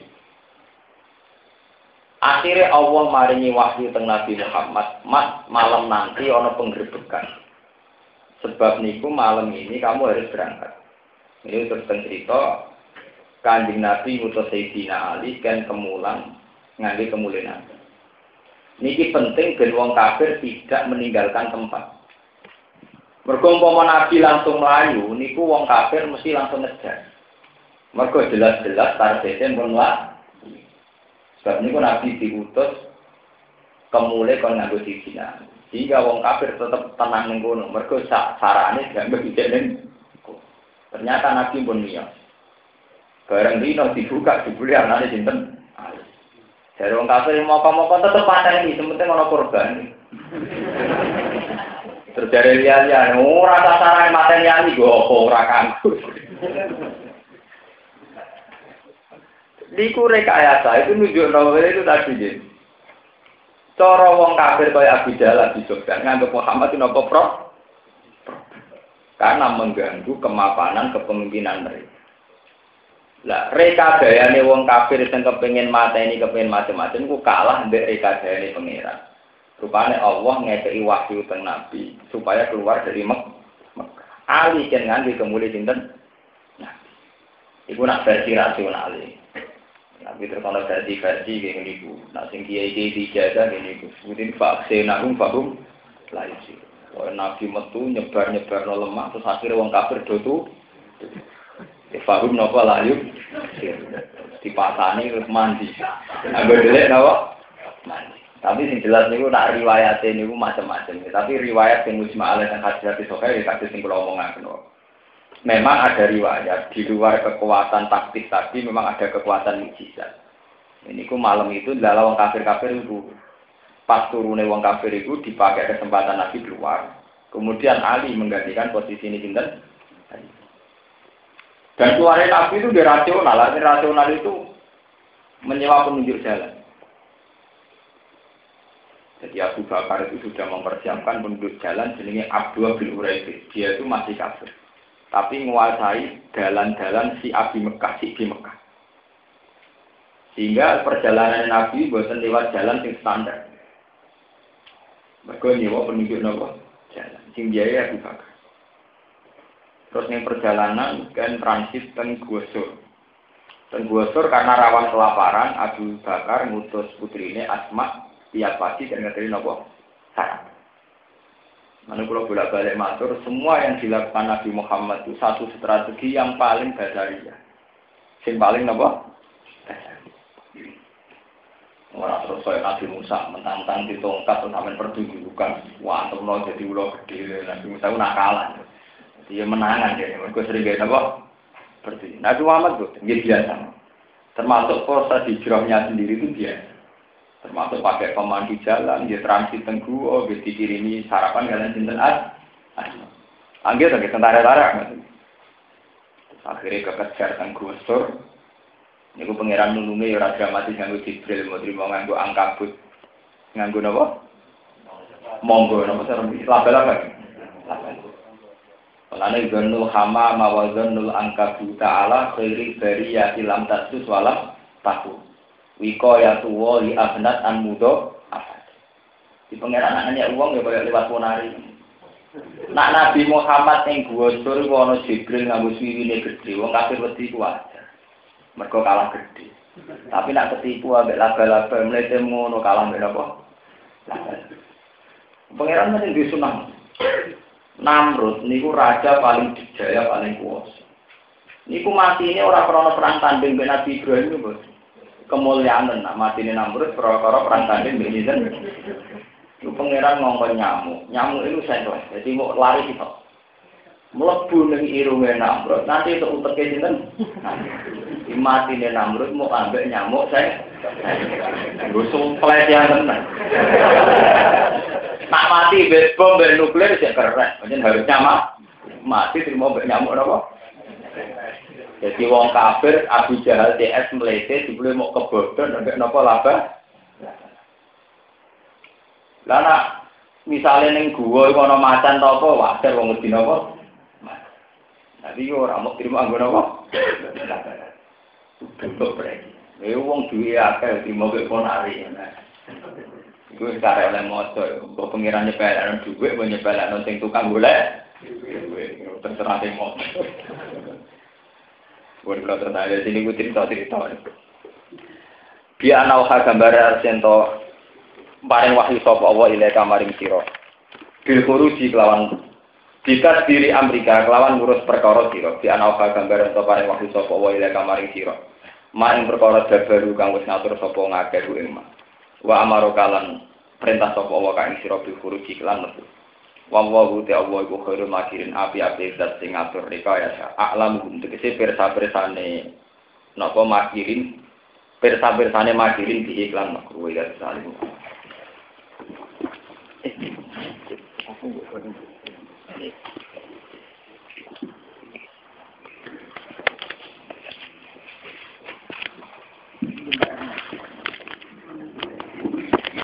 Akhirnya Allah maringi wahyu teng Nabi Muhammad, mas malam nanti ana penggerbekan. Sebab niku malam ini kamu harus berangkat. Ini terus cerita Kanjeng Nabi ngutus Sayyidina Ali kan kemulan ngangge kemuliaan. Niki penting ben wong kafir tidak meninggalkan tempat. Mergo umpama Nabi langsung melayu niku wong kafir mesti langsung ngejar. Mergo jelas-jelas targete pun lah. Sebab niku Nabi diutus kemule kon nganggo Sayyidina Ali. Sehingga wong kafir tetap tenang ning kono. Mergo sarane dianggap dicek ning. Ternyata Nabi pun miyos. Bareng dino dibuka dibuli anane sinten? Ali. Jare wong kafir moko-moko tetep pateni, sementing ana korban. Terus jare liya-liya ora sasarane mateni Ali go ora kanggo. Diku rekayasa itu nunjukno itu tadi nggih. Cara wong kafir kaya Abu Jahal di Sufyan nganggep Muhammad itu napa pro? Karena mengganggu kemapanan kepemimpinan mereka. Lah rekadayane wong kafir sing kepengin mateni kepengin macam-macam ku kalah mbek rekadayane pangeran. Rupane Allah ngekeki wahyu teng Nabi supaya keluar dari Mekah. Ali kan nganti kemuli sinten? Nah. Iku nak versi rasional. Tapi terkala versi-versi kayak gini, nak sing kiai-kiai dijaga gini, kemudian vaksin nahum fahum lain sih. Kalau nabi metu nyebar-nyebar no lemak, terus akhirnya wong kafir dotu, fahum nopo layu, dipasani terus mandi. Ambil delek nopo mandi. Tapi yang jelas niku nak riwayatnya niku macam-macam. Tapi riwayat yang mujma' alaih dan hadis sokai, hadis yang kalau omongan nopo. Memang ada riwayat di luar kekuatan taktis tadi memang ada kekuatan mukjizat. Ini ku malam itu adalah wong kafir-kafir itu pas turune wong kafir itu dipakai kesempatan Nabi keluar. Kemudian Ali menggantikan posisi ini sinten. Dan keluarnya Nabi itu dirasional, artinya rasional itu menyewa penunjuk jalan. Jadi Abu Bakar itu sudah mempersiapkan penunjuk jalan jenenge Abdullah bin Uraidi. Dia itu masih kafir. Tapi menguasai jalan-jalan si Abi Mekah, si Abi Mekah. Sehingga perjalanan Nabi bosan lewat jalan yang standar. Mereka nyewa penunjuk nopo jalan. Sing biaya Abu Bakar. Terus yang perjalanan kan transit ten Gusur. Ten Gusur karena rawan kelaparan, Abu Bakar ngutus putrine Asma tiap pagi dan ngeteri nopo syarat. Mana kalau bolak-balik matur, semua yang dilakukan Nabi Muhammad itu satu strategi yang paling badariyah. Yang paling apa? Badariyah. Orang terus saya Nabi Musa mentang-mentang ditongkat terus sampai pertunjukan. Wah, terus jadi ulo gede. Nabi Musa itu nakalan. Dia menangan dia. Mereka sering gaya apa? Seperti Nabi Muhammad itu dia biasa. Termasuk proses hijrahnya sendiri itu biasa. Termasuk pakai pemandu jalan, dia transit tenggu, oh, dia dikirimi sarapan kalian sinten as, anggil lagi tentara-tentara, akhirnya kekejar tenggu sur, ini ku pangeran nulungi raja mati nganggo Jibril, mau terima nganggo angkabut, nganggo apa? Monggo, apa sih? Laba-laba. Karena zonul hama mawazonul angkabut ta'ala khairi bariyati lam tasus walam tahu. Wiko ya tuwo li abnat an mudo apa? Di pangeran anaknya uang ya boleh lewat ponari. Nak Nabi Muhammad yang gosur wono Jibril ngambus wiwine gede, wong kafir wedi ku aja. Mergo kalah gede. Tapi nak ketipu ambek laba-laba mlete ngono kalah mbek apa? Pangeran mesti disunah. Namrud niku raja paling dijaya paling kuwasa. Niku matine ora krana perang tanding mbek Nabi Ibrahim bos. Kemuliaan nak matine Namrud perkara perang tanding mbek sinten. Itu pangeran ngomong nyamuk. Nyamuk itu sentuh. Jadi mau lari kita. Melebu ning irunge Namrud. Nanti itu uteke sinten. Matine Namrud mau ambek nyamuk saya. Nggo sumplet yang tenan. Nak mati bes bom bes nuklir sih keren. Macam harusnya mah mati terima mbek nyamuk napa? Jadi wong kafir Abu Jahal D S melete dibeli mau kebodhon ambek napa laba. Lah nak misale ning guwa iku ana macan ta apa wajar wong mesti napa? Tapi yo ora mau terima nggo napa? Bentuk brek. Eh wong duwe akeh terima mbek ponari. Iku karek oleh moco, kok pengirane pelan dhuwit, kok nyepelakno sing tukang golek. terserah deh mau. Buat kalau tertanya sini gue cerita cerita. Dia nauha gambar sento paring wahyu sapa Allah ila kamaring sira. Bil khuruji kelawan jika diri Amerika kelawan ngurus perkara sira. Dia nauha gambar sento paring wahyu sapa Allah ila kamaring sira. Ma ing perkara dabaru kang wis ngatur sapa ngakeh ing ma. Wa amaro kalan perintah sapa Allah kang sira bil khuruji kelan metu. Wallahu ta'ala iku khairul makirin api-api zat sing ngatur rekayasa. A'lam hum tegese pirsa-pirsane napa makirin pirsa-pirsane makirin di iklan makruh ya salim. Eh, aku